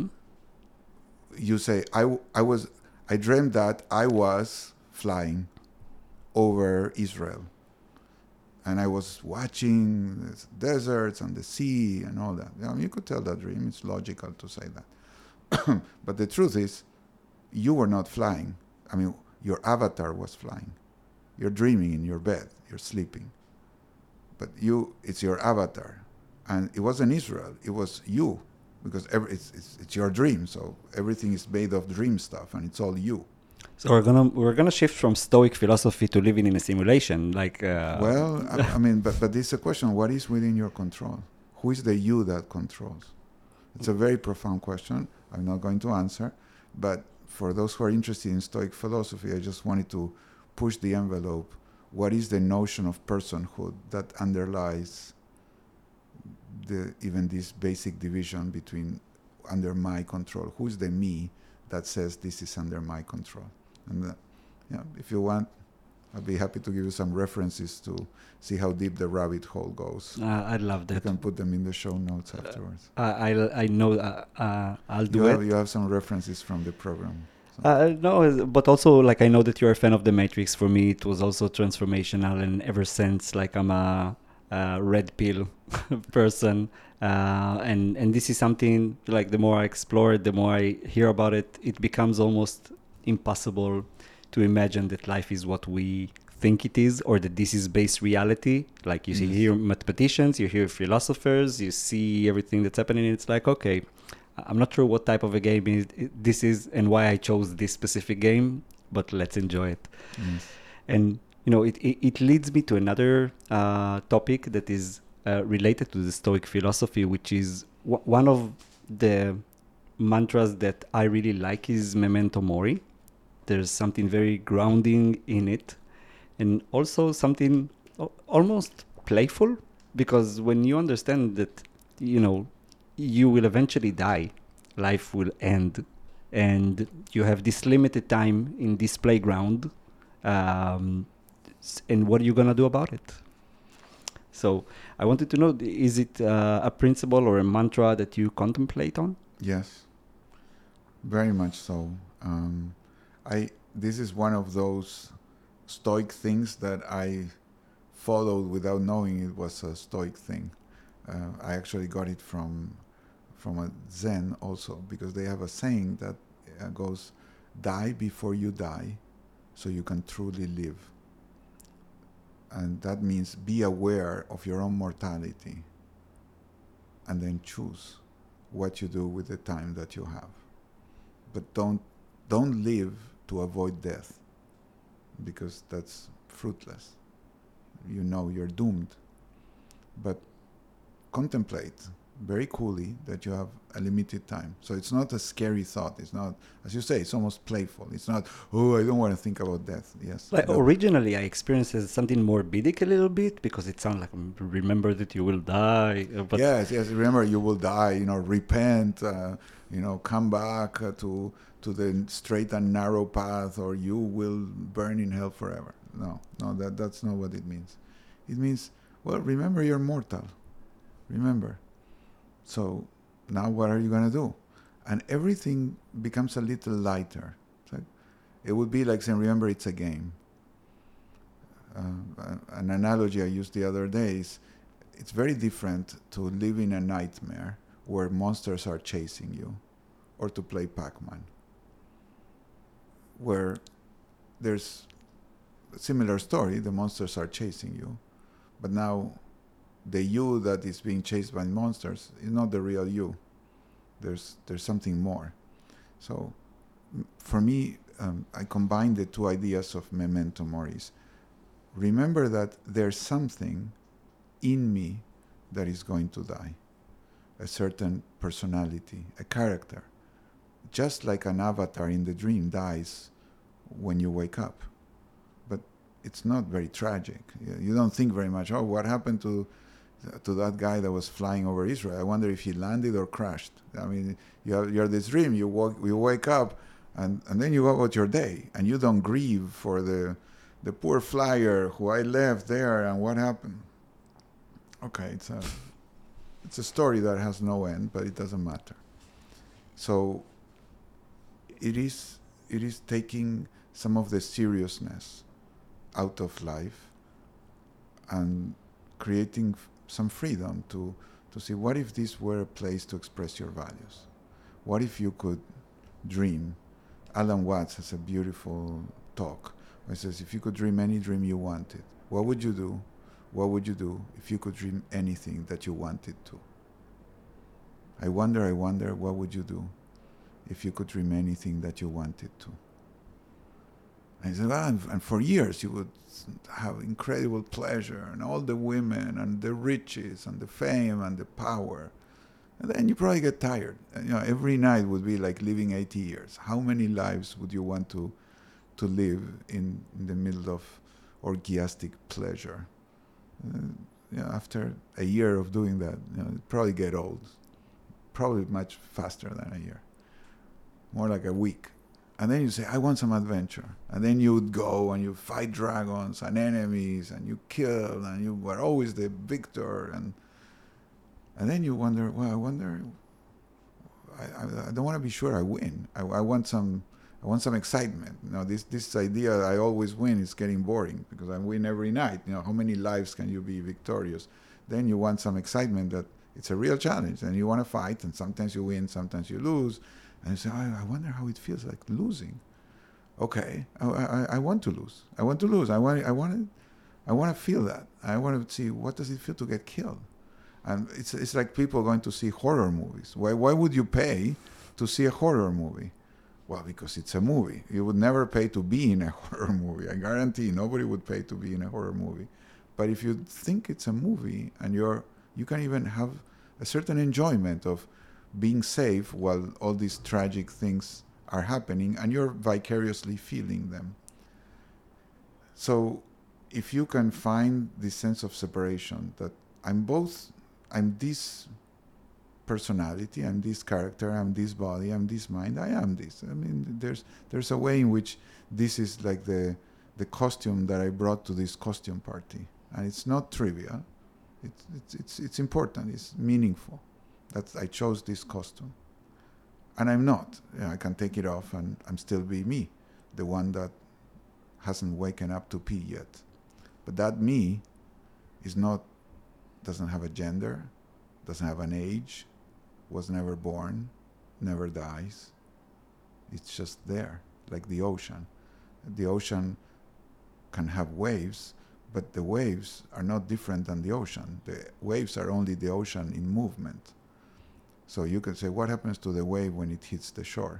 you say, I dreamed that I was flying over Israel. And I was watching the deserts and the sea and all that. You could tell that dream. It's logical to say that. But the truth is, you were not flying. I mean, your avatar was flying. You're dreaming in your bed. You're sleeping. But it's your avatar. And it wasn't Israel. It was you. Because it's your dream. So everything is made of dream stuff. And it's all you. So we're gonna shift from Stoic philosophy to living in a simulation, like. Well, I mean, but it's a question: what is within your control? Who is the you that controls? It's a very profound question. I'm not going to answer, but for those who are interested in Stoic philosophy, I just wanted to push the envelope. What is the notion of personhood that underlies even this basic division between under my control? Who is the me that says this is under my control? And if you want, I'd be happy to give you some references to see how deep the rabbit hole goes. I'd love that. You can put them in the show notes afterwards. I know I'll do it. You have some references from the program. So. No, but also like I know that you're a fan of The Matrix. For me, it was also transformational, and ever since, like I'm a red pill person, and this is something like the more I explore it, the more I hear about it, it becomes almost impossible to imagine that life is what we think it is, or that this is base reality. Like you see here mathematicians, you hear philosophers, you see everything that's happening. It's like, okay, I'm not sure what type of a game this is and why I chose this specific game, but let's enjoy it. Yes. And it leads me to another topic that is related to the Stoic philosophy, which is one of the mantras that I really like is Memento Mori. There's something very grounding in it, and also something almost playful, because when you understand that, you will eventually die, life will end, and you have this limited time in this playground, and what are you going to do about it? So I wanted to know, is it a principle or a mantra that you contemplate on? Yes, very much so. This is one of those Stoic things that I followed without knowing it was a Stoic thing. I actually got it from a Zen also, because they have a saying that goes, die before you die so you can truly live. And that means be aware of your own mortality and then choose what you do with the time that you have. But don't live to avoid death, because that's fruitless. You're doomed. But contemplate very coolly that you have a limited time. So it's not a scary thought. It's not, as you say, it's almost playful. It's not, oh, I don't want to think about death. Yes. Like originally I experienced as something morbid a little bit, because it sounds like, remember that you will die. But yes, remember you will die, repent, come back to the straight and narrow path, or you will burn in hell forever. No, that's not what it means. It means, well, remember you're mortal. Remember. So now what are you going to do? And everything becomes a little lighter. It would be like saying, remember, it's a game. An analogy I used the other day is, it's very different to live in a nightmare where monsters are chasing you, or to play Pac-Man, where there's a similar story. The monsters are chasing you, but now the you that is being chased by monsters is not the real you. There's something more. So for me, I combine the two ideas of Memento Mori. Remember that there's something in me that is going to die. A certain personality, a character. Just like an avatar in the dream dies when you wake up. But it's not very tragic. You don't think very much, what happened to that guy that was flying over Israel? I wonder if he landed or crashed. I mean, you're this dream, you wake up, and then you go about your day, and you don't grieve for the poor flyer who I left there and what happened. Okay, it's a story that has no end, but it doesn't matter. So it is taking some of the seriousness out of life and creating some freedom to see, what if this were a place to express your values? What if you could dream? Alan Watts has a beautiful talk where he says, if you could dream any dream you wanted, what would you do? What would you do if you could dream anything that you wanted to? I wonder, what would you do if you could dream anything that you wanted to? And he said, and for years you would have incredible pleasure, and all the women, and the riches, and the fame, and the power. And then you probably get tired. And, every night would be like living 80 years. How many lives would you want to live in the middle of orgiastic pleasure? After a year of doing that, you'd probably get old. Probably much faster than a year. More like a week. And then you say, I want some adventure. And then you would go and you fight dragons and enemies and you kill and you were always the victor. And then you wonder, well, I don't want to be sure I win. I want some excitement. This idea I always win is getting boring because I win every night. How many lives can you be victorious? Then you want some excitement that it's a real challenge and you want to fight, and sometimes you win, sometimes you lose. And you say, I wonder how it feels like losing. Okay, I want to lose. I want to lose. I want to feel that. I want to see what does it feel to get killed. And it's like people going to see horror movies. Why would you pay to see a horror movie? Well, because it's a movie. You would never pay to be in a horror movie. I guarantee nobody would pay to be in a horror movie. But if you think it's a movie and you can even have a certain enjoyment of being safe while all these tragic things are happening and you're vicariously feeling them. So if you can find this sense of separation, that I'm this personality, I'm this character, I'm this body, I'm this mind, I am this. I mean, there's a way in which this is like the costume that I brought to this costume party. And it's not trivial. It's important, it's meaningful. I chose this costume. And I'm not. I can take it off and I'm still be me, the one that hasn't waken up to pee yet. But that me doesn't have a gender, doesn't have an age, was never born, never dies. It's just there, like the ocean. The ocean can have waves, but the waves are not different than the ocean. The waves are only the ocean in movement. So you can say, what happens to the wave when it hits the shore?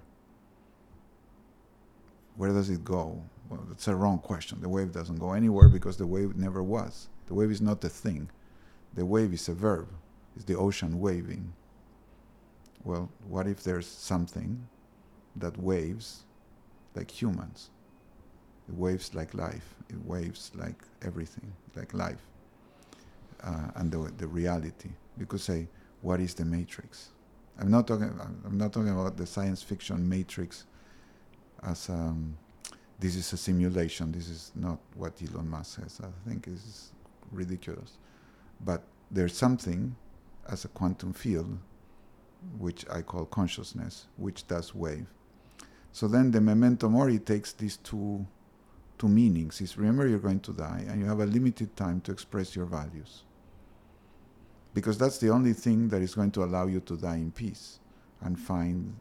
Where does it go? Well, that's a wrong question. The wave doesn't go anywhere because the wave never was. The wave is not a thing. The wave is a verb. It's the ocean waving. Well, what if there's something that waves like humans? It waves like life. It waves like everything, like life. And the reality. You could say, what is the matrix? I'm not talking about the science fiction matrix as this is a simulation. This is not what Elon Musk says. I think it's ridiculous. But there's something as a quantum field, which I call consciousness, which does wave. So then the memento mori takes these two meanings. Is remember you're going to die and you have a limited time to express your values. Because that's the only thing that is going to allow you to die in peace and find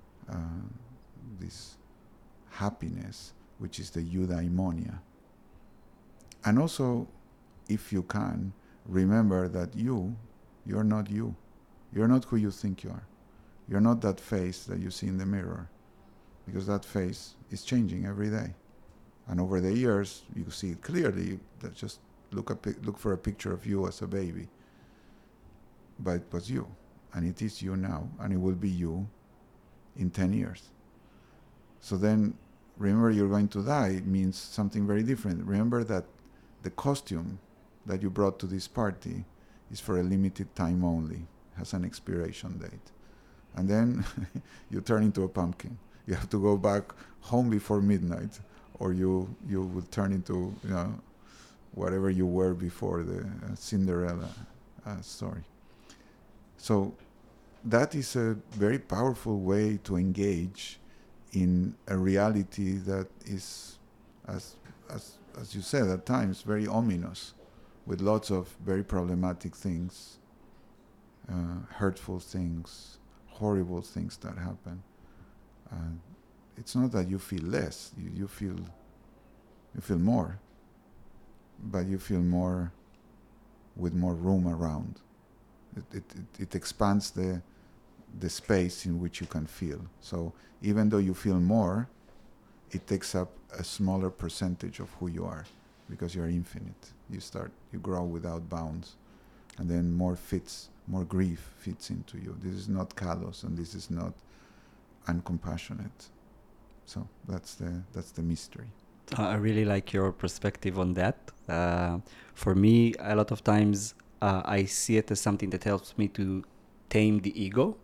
this happiness, which is the eudaimonia. And also, if you can, remember that you're not you. You're not who you think you are. You're not that face that you see in the mirror, because that face is changing every day. And over the years, you see it clearly. Just look for a picture of you as a baby. But it was you, and it is you now, and it will be you in 10 years. So then, remember you're going to die means something very different. Remember that the costume that you brought to this party is for a limited time only, has an expiration date. And then you turn into a pumpkin. You have to go back home before midnight, or you will turn into whatever you were before, the Cinderella story. So that is a very powerful way to engage in a reality that is, as you said, at times very ominous, with lots of very problematic things, hurtful things, horrible things that happen. It's not that you feel less, you feel more, but you feel more with more room around. It expands the space in which you can feel. So even though you feel more, it takes up a smaller percentage of who you are, because you are infinite. You grow without bounds, and then more grief fits into you. This is not callous, and this is not uncompassionate. So that's the mystery. I really like your perspective on that. For me, a lot of times I see it as something that helps me to tame the ego,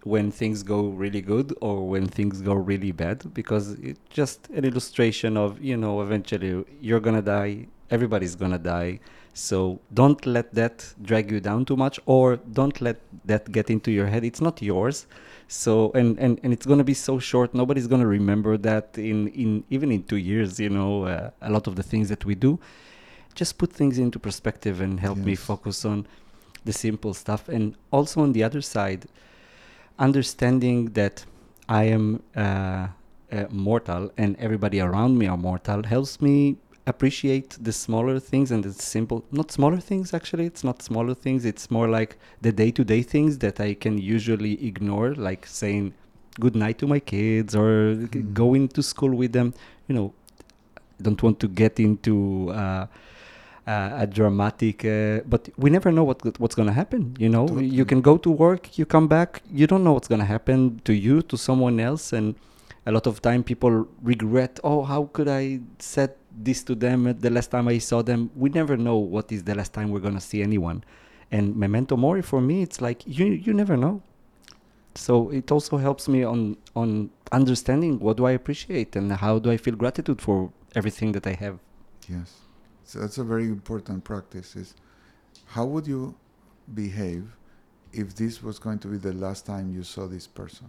when things go really good or when things go really bad, because it's just an illustration of, eventually you're gonna die, everybody's gonna die. So don't let that drag you down too much, or don't let that get into your head. It's not yours. So and it's gonna be so short. Nobody's gonna remember that in even in 2 years. A lot of the things that we do, just put things into perspective and help me Yes. focus on the simple stuff. And also on the other side, understanding that I am mortal and everybody around me are mortal helps me appreciate the smaller things and the simple, not smaller things actually, it's not smaller things, it's more like the day-to-day things that I can usually ignore, like saying good night to my kids or going to school with them. Don't want to get into a dramatic, but we never know what's going to happen. Totally. You can go to work, you come back, you don't know what's going to happen to you, to someone else. And a lot of time people regret, oh, how could I said this to them at the last time I saw them. We never know what is the last time we're going to see anyone. And memento mori for me, it's like you never know. So it also helps me on understanding what do I appreciate and how do I feel gratitude for everything that I have. Yes. So that's a very important practice. Is how would you behave if this was going to be the last time you saw this person?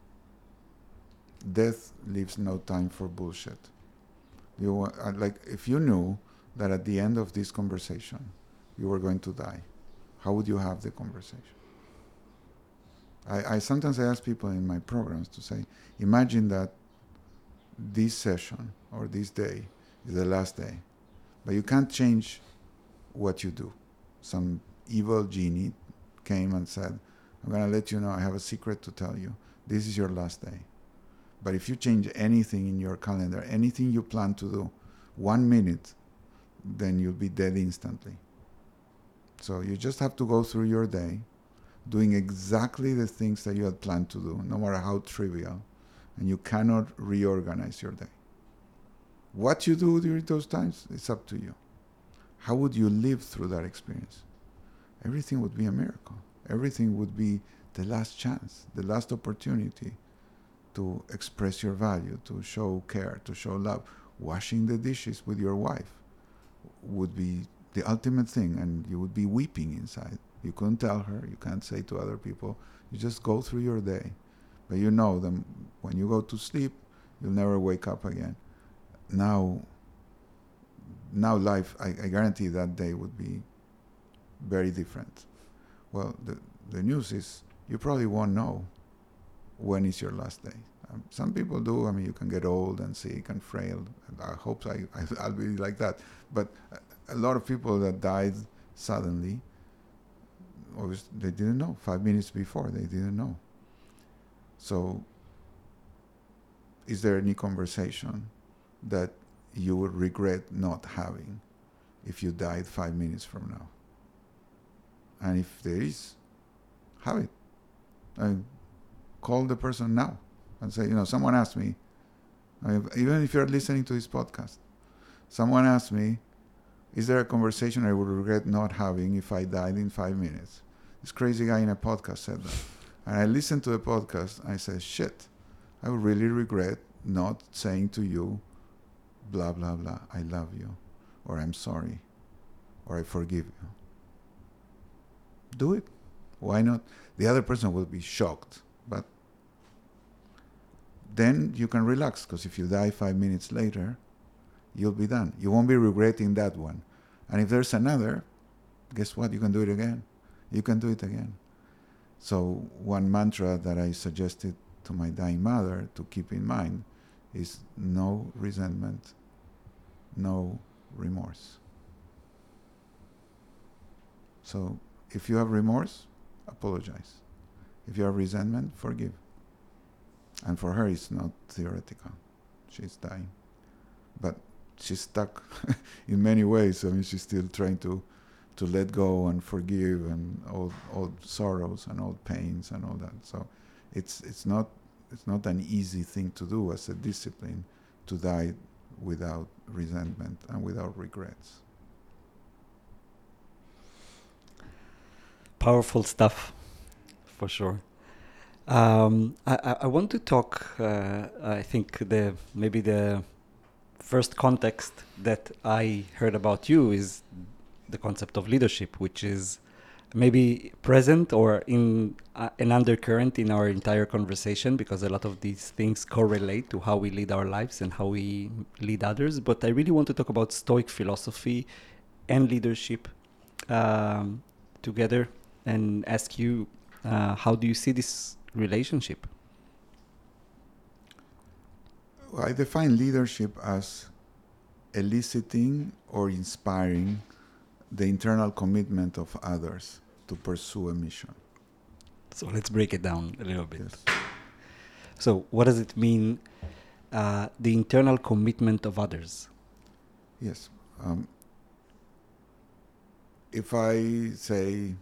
Death leaves no time for bullshit. Like if you knew that at the end of this conversation you were going to die, how would you have the conversation? I sometimes ask people in my programs to say, imagine that this session or this day is the last day, but you can't change what you do. Some evil genie came and said, I'm going to let you know, I have a secret to tell you. This is your last day. But if you change anything in your calendar, anything you plan to do, 1 minute, then you'll be dead instantly. So you just have to go through your day doing exactly the things that you had planned to do, no matter how trivial, and you cannot reorganize your day. What you do during those times, it's up to you. How would you live through that experience? Everything would be a miracle. Everything would be the last chance, the last opportunity to express your value, to show care, to show love. Washing the dishes with your wife would be the ultimate thing, and you would be weeping inside. You couldn't tell her, you can't say to other people. You just go through your day. But you know that when you go to sleep, you'll never wake up again. Now life, I guarantee that day would be very different. Well, the news is you probably won't know when is your last day. Some people do. I mean, you can get old and sick and frail. And I hope I'll be like that. But a lot of people that died suddenly, obviously, they didn't know. 5 minutes before, they didn't know. So, is there any conversation that you would regret not having if you died 5 minutes from now? And if there is, have it. And call the person now and say, someone asked me, even if you're listening to this podcast, someone asked me, is there a conversation I would regret not having if I died in 5 minutes? This crazy guy in a podcast said that. And I listened to the podcast. I said, shit, I would really regret not saying to you, blah, blah, blah, I love you, or I'm sorry, or I forgive you. Do it. Why not? The other person will be shocked, but then you can relax, because if you die 5 minutes later, you'll be done. You won't be regretting that one. And if there's another, guess what? You can do it again. You can do it again. So one mantra that I suggested to my dying mother to keep in mind is no resentment, no remorse. So if you have remorse, apologize. If you have resentment, forgive. And for her, it's not theoretical. She's dying. But she's stuck in many ways. I mean, she's still trying to let go and forgive and old sorrows and old pains and all that. So it's not an easy thing to do as a discipline, to die without resentment and without regrets. Powerful stuff, for sure. I want to talk. I think maybe the first context that I heard about you is the concept of leadership, which is maybe present or in an undercurrent in our entire conversation, because a lot of these things correlate to how we lead our lives and how we lead others. But I really want to talk about Stoic philosophy and leadership together, and ask you, how do you see this relationship? Well, I define leadership as eliciting or inspiring the internal commitment of others to pursue a mission. So let's break it down a little bit. Yes. So what does it mean, the internal commitment of others? Yes. If I say,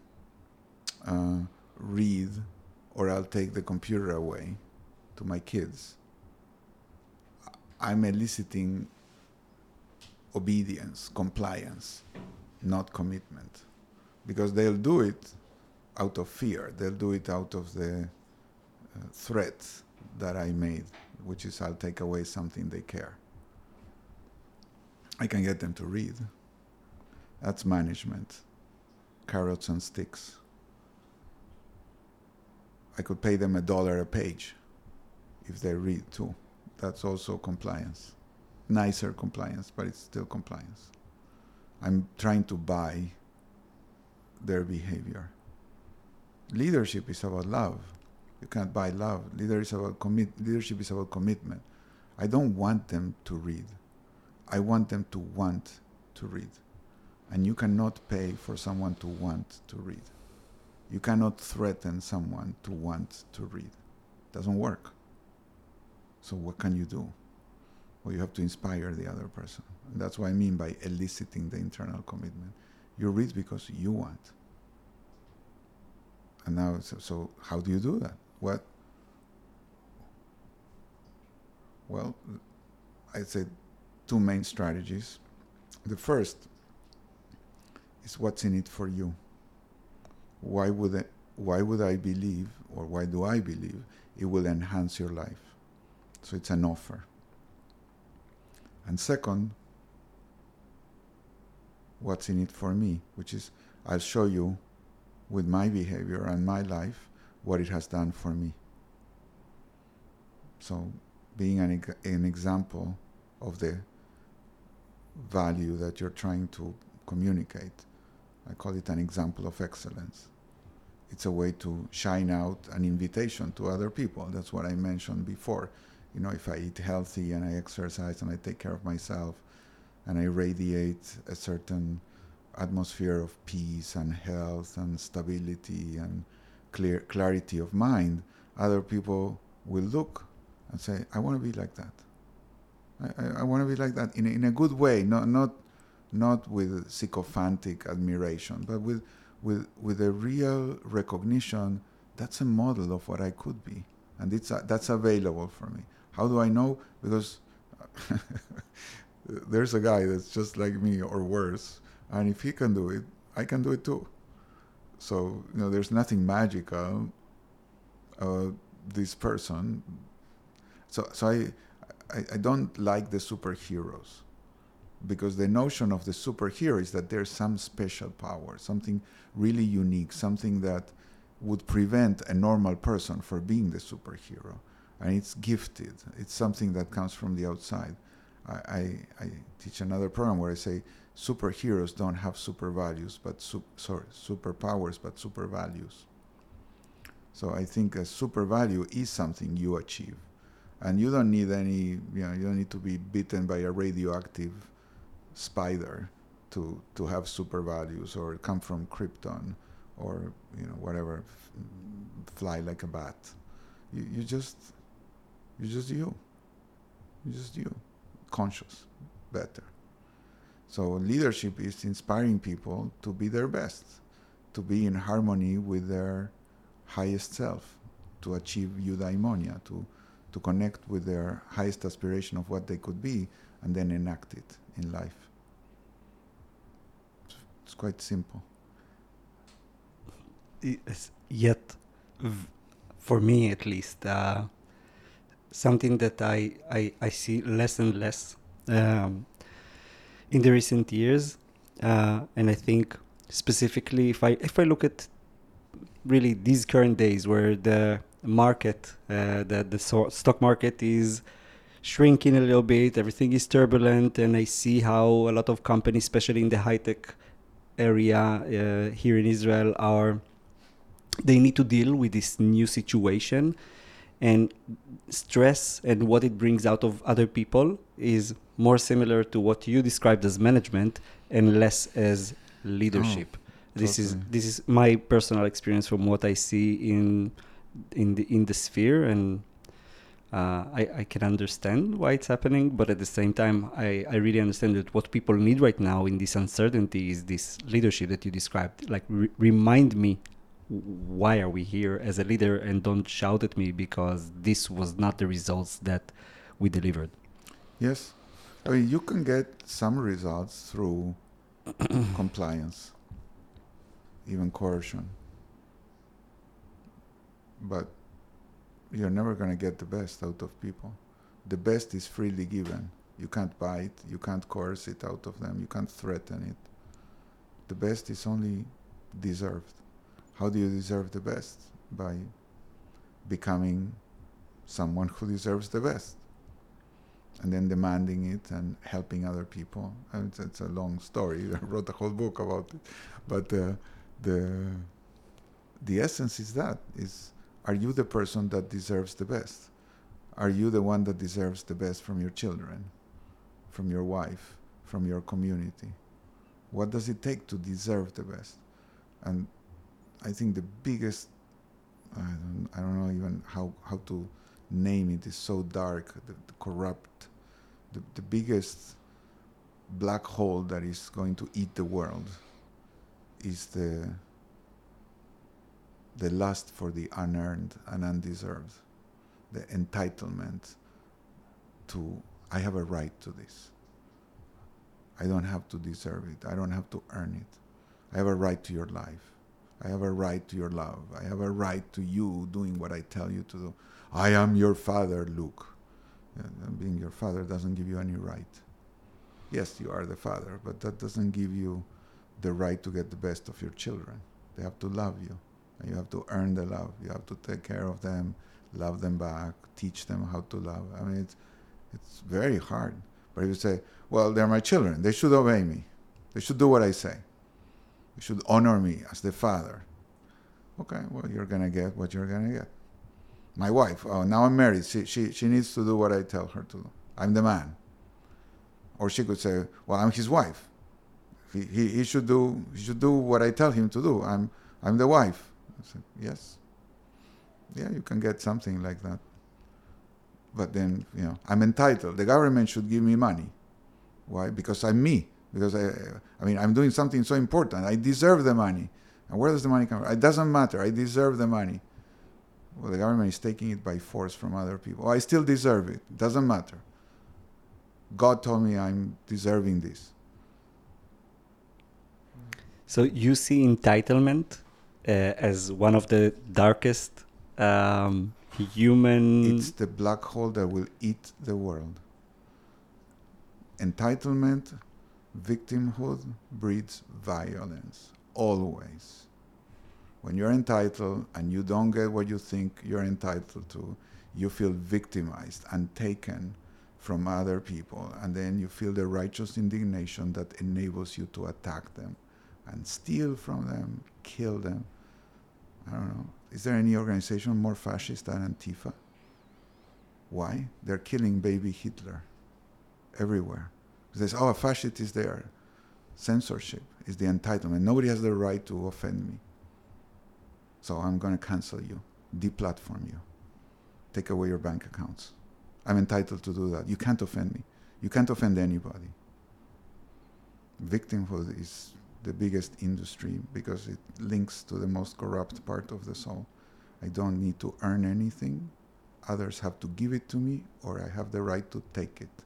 read, or I'll take the computer away to my kids, I'm eliciting obedience, compliance, not commitment. Because they'll do it out of fear. They'll do it out of the threat that I made, which is I'll take away something they care. I can get them to read. That's management. Carrots and sticks. I could pay them $1 a page if they read too. That's also compliance. Nicer compliance, but it's still compliance. I'm trying to buy their behavior. Leadership is about love. You can't buy love. Leadership is about commitment. I don't want them to read. I want them to want to read. And you cannot pay for someone to want to read. You cannot threaten someone to want to read. It doesn't work. So what can you do? Well, you have to inspire the other person. And that's what I mean by eliciting the internal commitment. You read because you want. And now, so how do you do that? What? Well, I'd say two main strategies. The first is what's in it for you. Why would I believe, or why do I believe it will enhance your life? So it's an offer. And second, what's in it for me, which is I'll show you with my behavior and my life what it has done for me. So being an example of the value that you're trying to communicate, I call it an example of excellence. It's a way to shine out an invitation to other people. That's what I mentioned before. You know, if I eat healthy and I exercise and I take care of myself and I radiate a certain atmosphere of peace and health and stability and clarity of mind, other people will look and say, I want to be like that. I want to be like that in a good way, not with sycophantic admiration, but with a real recognition. That's a model of what I could be, and that's available for me. How do I know? Because there's a guy that's just like me or worse, and if he can do it, I can do it too. So, you know, there's nothing magical this person. So I don't like the superheroes, because the notion of the superhero is that there's some special power, something really unique, something that would prevent a normal person from being the superhero. And it's gifted. It's something that comes from the outside. I teach another program where I say superheroes don't have super values, but superpowers, but super values. So I think a super value is something you achieve. And you don't need you don't need to be bitten by a radioactive spider to have super values, or come from Krypton, or whatever, fly like a bat. You just you, conscious, better. So leadership is inspiring people to be their best, to be in harmony with their highest self, to achieve eudaimonia, to connect with their highest aspiration of what they could be, and then enact it in life. It's quite simple. Yet For me at least, something that I see less and less um, in the recent years, and I think specifically if I look at really these current days where the market, the stock market is shrinking a little bit, everything is turbulent, and I see how a lot of companies, especially in the high tech area here in Israel, they need to deal with this new situation, and stress and what it brings out of other people is more similar to what you described as management and less as leadership. This is my personal experience from what I see in the sphere, and I can understand why it's happening, but at the same time, I really understand that what people need right now in this uncertainty is this leadership that you described. Like, remind me, why are we here as a leader, and don't shout at me because this was not the results that we delivered. Yes. I mean, you can get some results through compliance, even coercion. But you're never going to get the best out of people. The best is freely given. You can't buy it. You can't coerce it out of them. You can't threaten it. The best is only deserved. How do you deserve the best? By becoming someone who deserves the best. And then demanding it and helping other people. And it's a long story. I wrote a whole book about it. But the essence is that, are you the person that deserves the best? Are you the one that deserves the best from your children, from your wife, from your community? What does it take to deserve the best? And I think the biggest, I don't know even how to name it, is so dark, the corrupt, the biggest black hole that is going to eat the world is the lust for the unearned and undeserved, the entitlement to, I have a right to this. I don't have to deserve it. I don't have to earn it. I have a right to your life. I have a right to your love. I have a right to you doing what I tell you to do. I am your father, Luke. And being your father doesn't give you any right. Yes, you are the father, but that doesn't give you the right to get the best of your children. They have to love you. And you have to earn the love. You have to take care of them, love them back, teach them how to love. I mean, it's very hard. But if you say, well, they're my children, they should obey me. They should do what I say. They should honor me as the father. Okay, well, you're going to get what you're going to get. My wife, now I'm married. She needs to do what I tell her to do. I'm the man. Or she could say, well, I'm his wife. He should do what I tell him to do. I'm the wife. I said, yes. Yeah, you can get something like that. But then, I'm entitled. The government should give me money. Why? Because I'm me. Because I'm doing something so important. I deserve the money. And where does the money come from? It doesn't matter. I deserve the money. Well, the government is taking it by force from other people. I still deserve it. It doesn't matter. God told me I'm deserving this. So you see entitlement as one of the darkest human... It's the black hole that will eat the world. Entitlement, victimhood breeds violence, always. When you're entitled and you don't get what you think you're entitled to, you feel victimized and taken from other people, and then you feel the righteous indignation that enables you to attack them and steal from them, kill them. I don't know. Is there any organization more fascist than Antifa? Why? They're killing baby Hitler everywhere. Because a fascist is there. Censorship is the entitlement. Nobody has the right to offend me. So I'm going to cancel you, deplatform you, take away your bank accounts. I'm entitled to do that. You can't offend me. You can't offend anybody. Victimhood is the biggest industry because it links to the most corrupt part of the soul. I don't need to earn anything. Others have to give it to me, or I have the right to take it.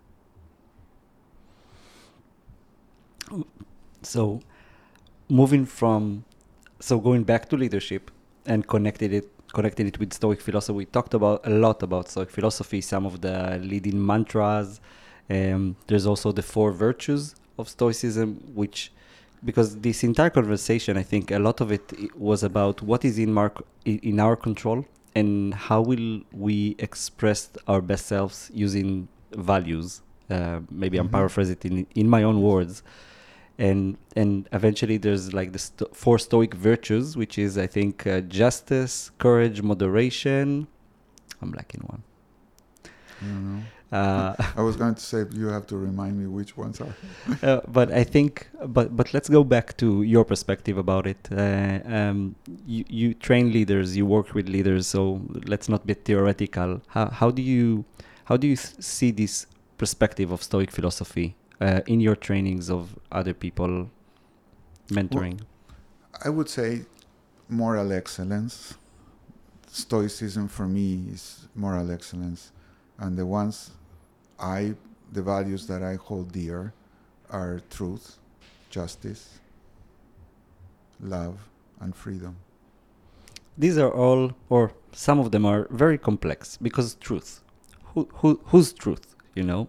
So going back to leadership and connected it connecting it with Stoic philosophy. We talked about a lot about Stoic philosophy, some of the leading mantras. There's also the 4 virtues of Stoicism, which, because this entire conversation, I think a lot of it was about what is in our control and how will we express our best selves using values. Maybe I'm paraphrasing it in my own words. And eventually there's like the 4 Stoic virtues, which is, I think, justice, courage, moderation. I'm lacking one. I don't know. I was going to say, you have to remind me which ones are. But I think, but let's go back to your perspective about it. You train leaders, you work with leaders, so let's not be theoretical. How do you see this perspective of Stoic philosophy in your trainings of other people, mentoring? Well, I would say moral excellence. Stoicism for me is moral excellence. And the values that I hold dear are truth, justice, love, and freedom. These are all, or some of them are very complex, because truth. Whose truth, you know?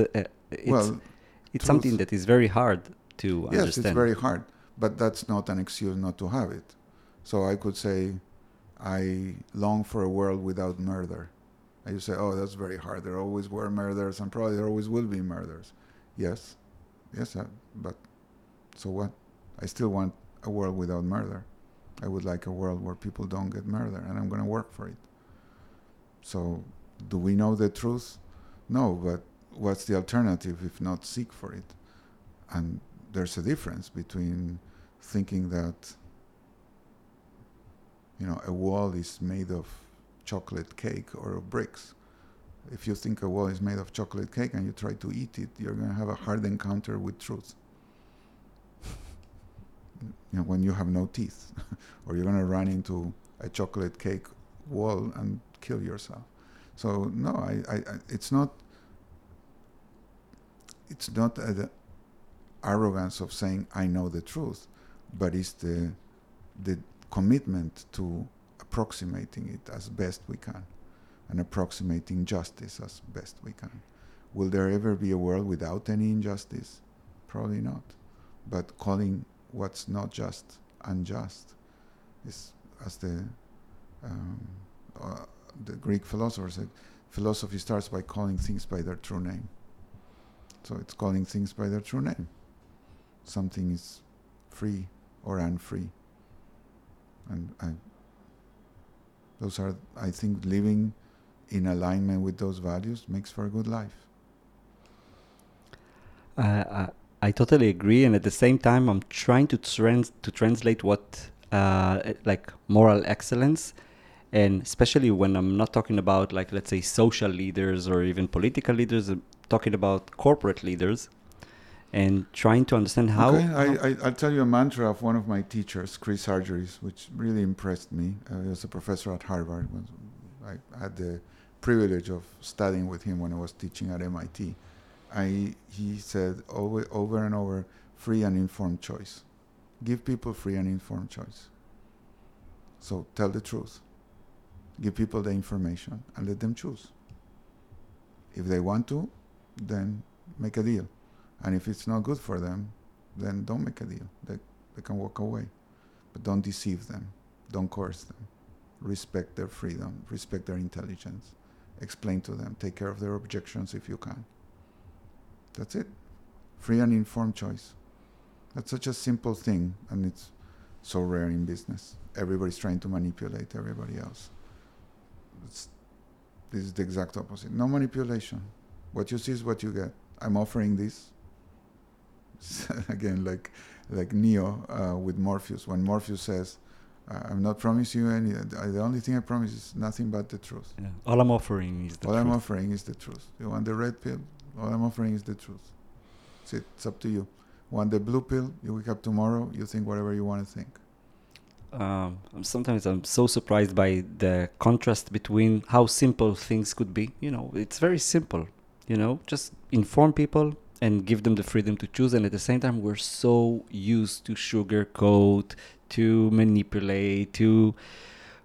It's something that is very hard to understand. Yes, it's very hard, but that's not an excuse not to have it. So I could say, I long for a world without murder. And you say, oh, that's very hard. There always were murders, and probably there always will be murders. Yes, but so what? I still want a world without murder. I would like a world where people don't get murdered, and I'm going to work for it. So, do we know the truth? No, but what's the alternative if not seek for it? And there's a difference between thinking that, a wall is made of chocolate cake or of bricks. If you think a wall is made of chocolate cake and you try to eat it, you're going to have a hard encounter with truth. When you have no teeth, or you're going to run into a chocolate cake wall and kill yourself. So no, it's not the arrogance of saying I know the truth, but it's the commitment to approximating it as best we can, and approximating justice as best we can. Will there ever be a world without any injustice? Probably not. But calling what's not just unjust is, as the Greek philosopher said, philosophy starts by calling things by their true name. So it's calling things by their true name. Something is free or unfree. And I think living in alignment with those values makes for a good life. I totally agree, and at the same time, I'm trying to translate what like moral excellence, and especially when I'm not talking about, like, let's say, social leaders or even political leaders, I'm talking about corporate leaders, and trying to understand how. Okay, I'll tell you a mantra of one of my teachers, Chris Argyris, which really impressed me. He was a professor at Harvard. I had the privilege of studying with him when I was teaching at MIT. He said over and over, free and informed choice. Give people free and informed choice. So tell the truth. Give people the information and let them choose. If they want to, then make a deal. And if it's not good for them, then don't make a deal. They can walk away. But don't deceive them. Don't coerce them. Respect their freedom. Respect their intelligence. Explain to them. Take care of their objections if you can. That's it. Free and informed choice. That's such a simple thing, and it's so rare in business. Everybody's trying to manipulate everybody else. This is the exact opposite. No manipulation. What you see is what you get. I'm offering this. Again, like Neo with Morpheus. When Morpheus says, I'm not promising you any, the only thing I promise is nothing but the truth. Yeah. All I'm offering is the truth. All I'm offering is the truth. You want the red pill? All I'm offering is the truth. That's it. It's up to you. Want the blue pill? You wake up tomorrow, you think whatever you want to think. Sometimes I'm so surprised by the contrast between how simple things could be. It's very simple. Just inform people and give them the freedom to choose. And at the same time, we're so used to sugarcoat, to manipulate, to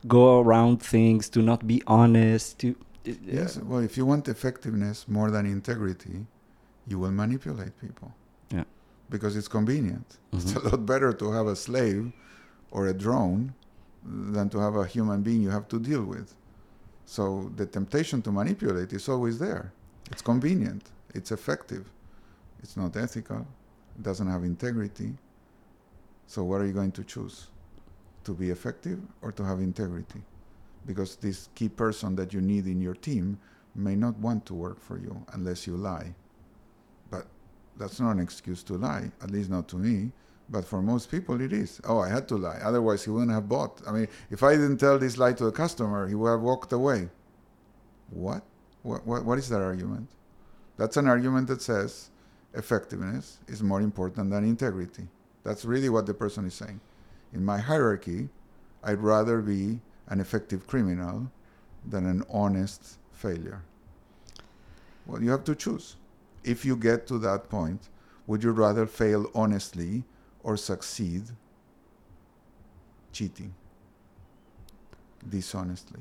go around things, to not be honest, to Yes, well, if you want effectiveness more than integrity, you will manipulate people. Yeah. Because it's convenient. It's Mhm. a lot better to have a slave or a drone than to have a human being you have to deal with. So the temptation to manipulate is always there. It's convenient. It's effective. It's not ethical. It doesn't have integrity. So what are you going to choose? To be effective or to have integrity? Because this key person that you need in your team may not want to work for you unless you lie. But that's not an excuse to lie, at least not to me. But for most people, it is. Oh, I had to lie. Otherwise, he wouldn't have bought. I mean, if I didn't tell this lie to the customer, he would have walked away. What? What is that argument? That's an argument that says effectiveness is more important than integrity. That's really what the person is saying. In my hierarchy, I'd rather be an effective criminal than an honest failure. Well, you have to choose. If you get to that point, would you rather fail honestly or succeed cheating, dishonestly?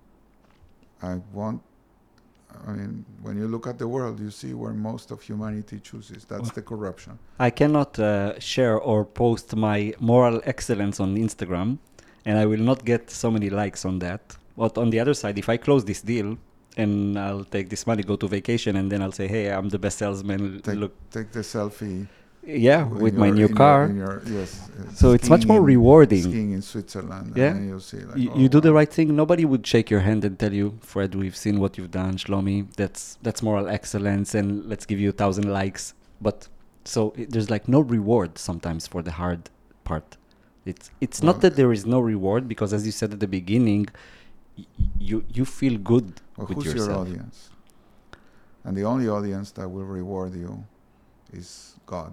When you look at the world, you see where most of humanity chooses. That's the corruption. I cannot share or post my moral excellence on Instagram, and I will not get so many likes on that. But on the other side, if I close this deal and I'll take this money, go to vacation, and then I'll say, hey, I'm the best salesman. Look, Take the selfie. yeah, with my new car. Yes. So it's much more rewarding. Skiing in Switzerland. Yeah. And then you'll see, like, You do the right thing. Nobody would shake your hand and tell you, Fred, we've seen what you've done, Shlomi. That's moral excellence, and let's give you 1,000 likes. But so there's like no reward sometimes for the hard part. It's not that there is no reward, because as you said at the beginning, you feel good with who's yourself. your audience? And the only audience that will reward you is God.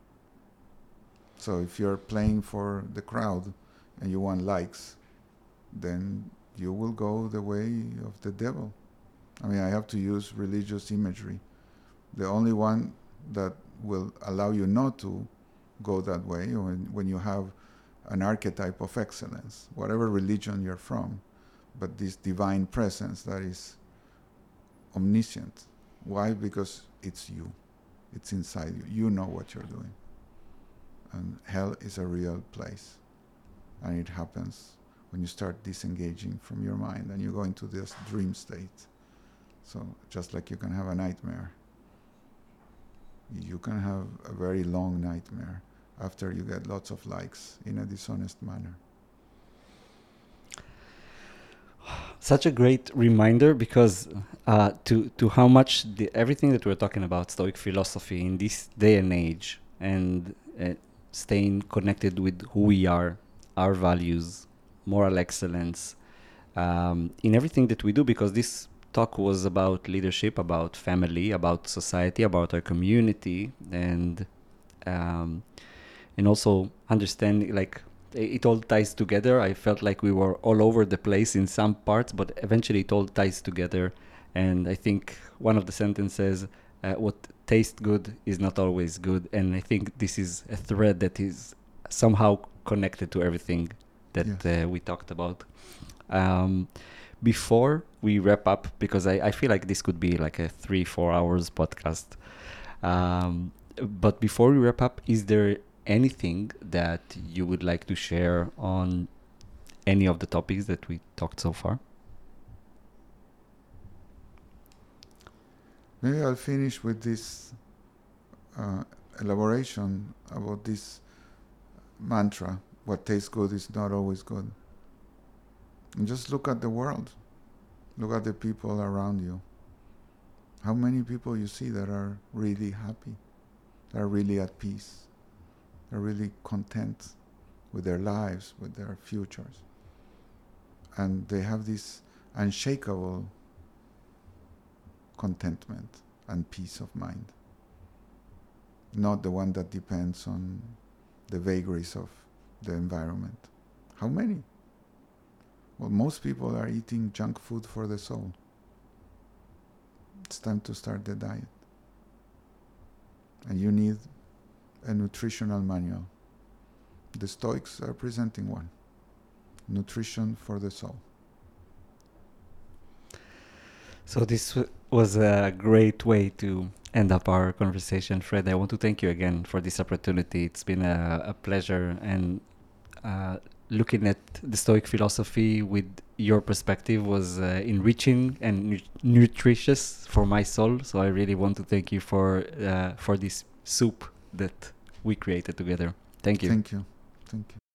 So if you're playing for the crowd and you want likes, then you will go the way of the devil. I mean, I have to use religious imagery. The only one that will allow you not to go that way, when you have an archetype of excellence, whatever religion you're from, but this divine presence that is omniscient. Why? Because it's you. It's inside you. You know what you're doing. And hell is a real place. And it happens when you start disengaging from your mind and you go into this dream state. So just like you can have a nightmare, you can have a very long nightmare after you get lots of likes in a dishonest manner. Such a great reminder, because to how much everything that we're talking about, Stoic philosophy in this day and age, and staying connected with who we are, our values, moral excellence, in everything that we do, because this talk was about leadership, about family, about society, about our community, and also understanding, like, it all ties together. I felt like we were all over the place in some parts, but eventually it all ties together. And I think one of the sentences, what tastes good is not always good. And I think this is a thread that is somehow connected to everything that we talked about. Before we wrap up, because I feel like this could be like a 3-4 hours podcast. But before we wrap up, is there anything that you would like to share on any of the topics that we talked so far? Maybe I'll finish with this elaboration about this mantra: what tastes good is not always good. And just look at the world. Look at the people around you. How many people you see that are really happy, that are really at peace, are really content with their lives, with their futures. And they have this unshakable contentment and peace of mind. Not the one that depends on the vagaries of the environment. How many? Well, most people are eating junk food for the soul. It's time to start the diet. And you need a nutritional manual. The Stoics are presenting one. nutrition for the soul. So this was a great way to end up our conversation, Fred. I want to thank you again for this opportunity. It's been a pleasure, and looking at the Stoic philosophy with your perspective was enriching and nutritious for my soul. So I really want to thank you for this soup that we created together. Thank you. Thank you. Thank you.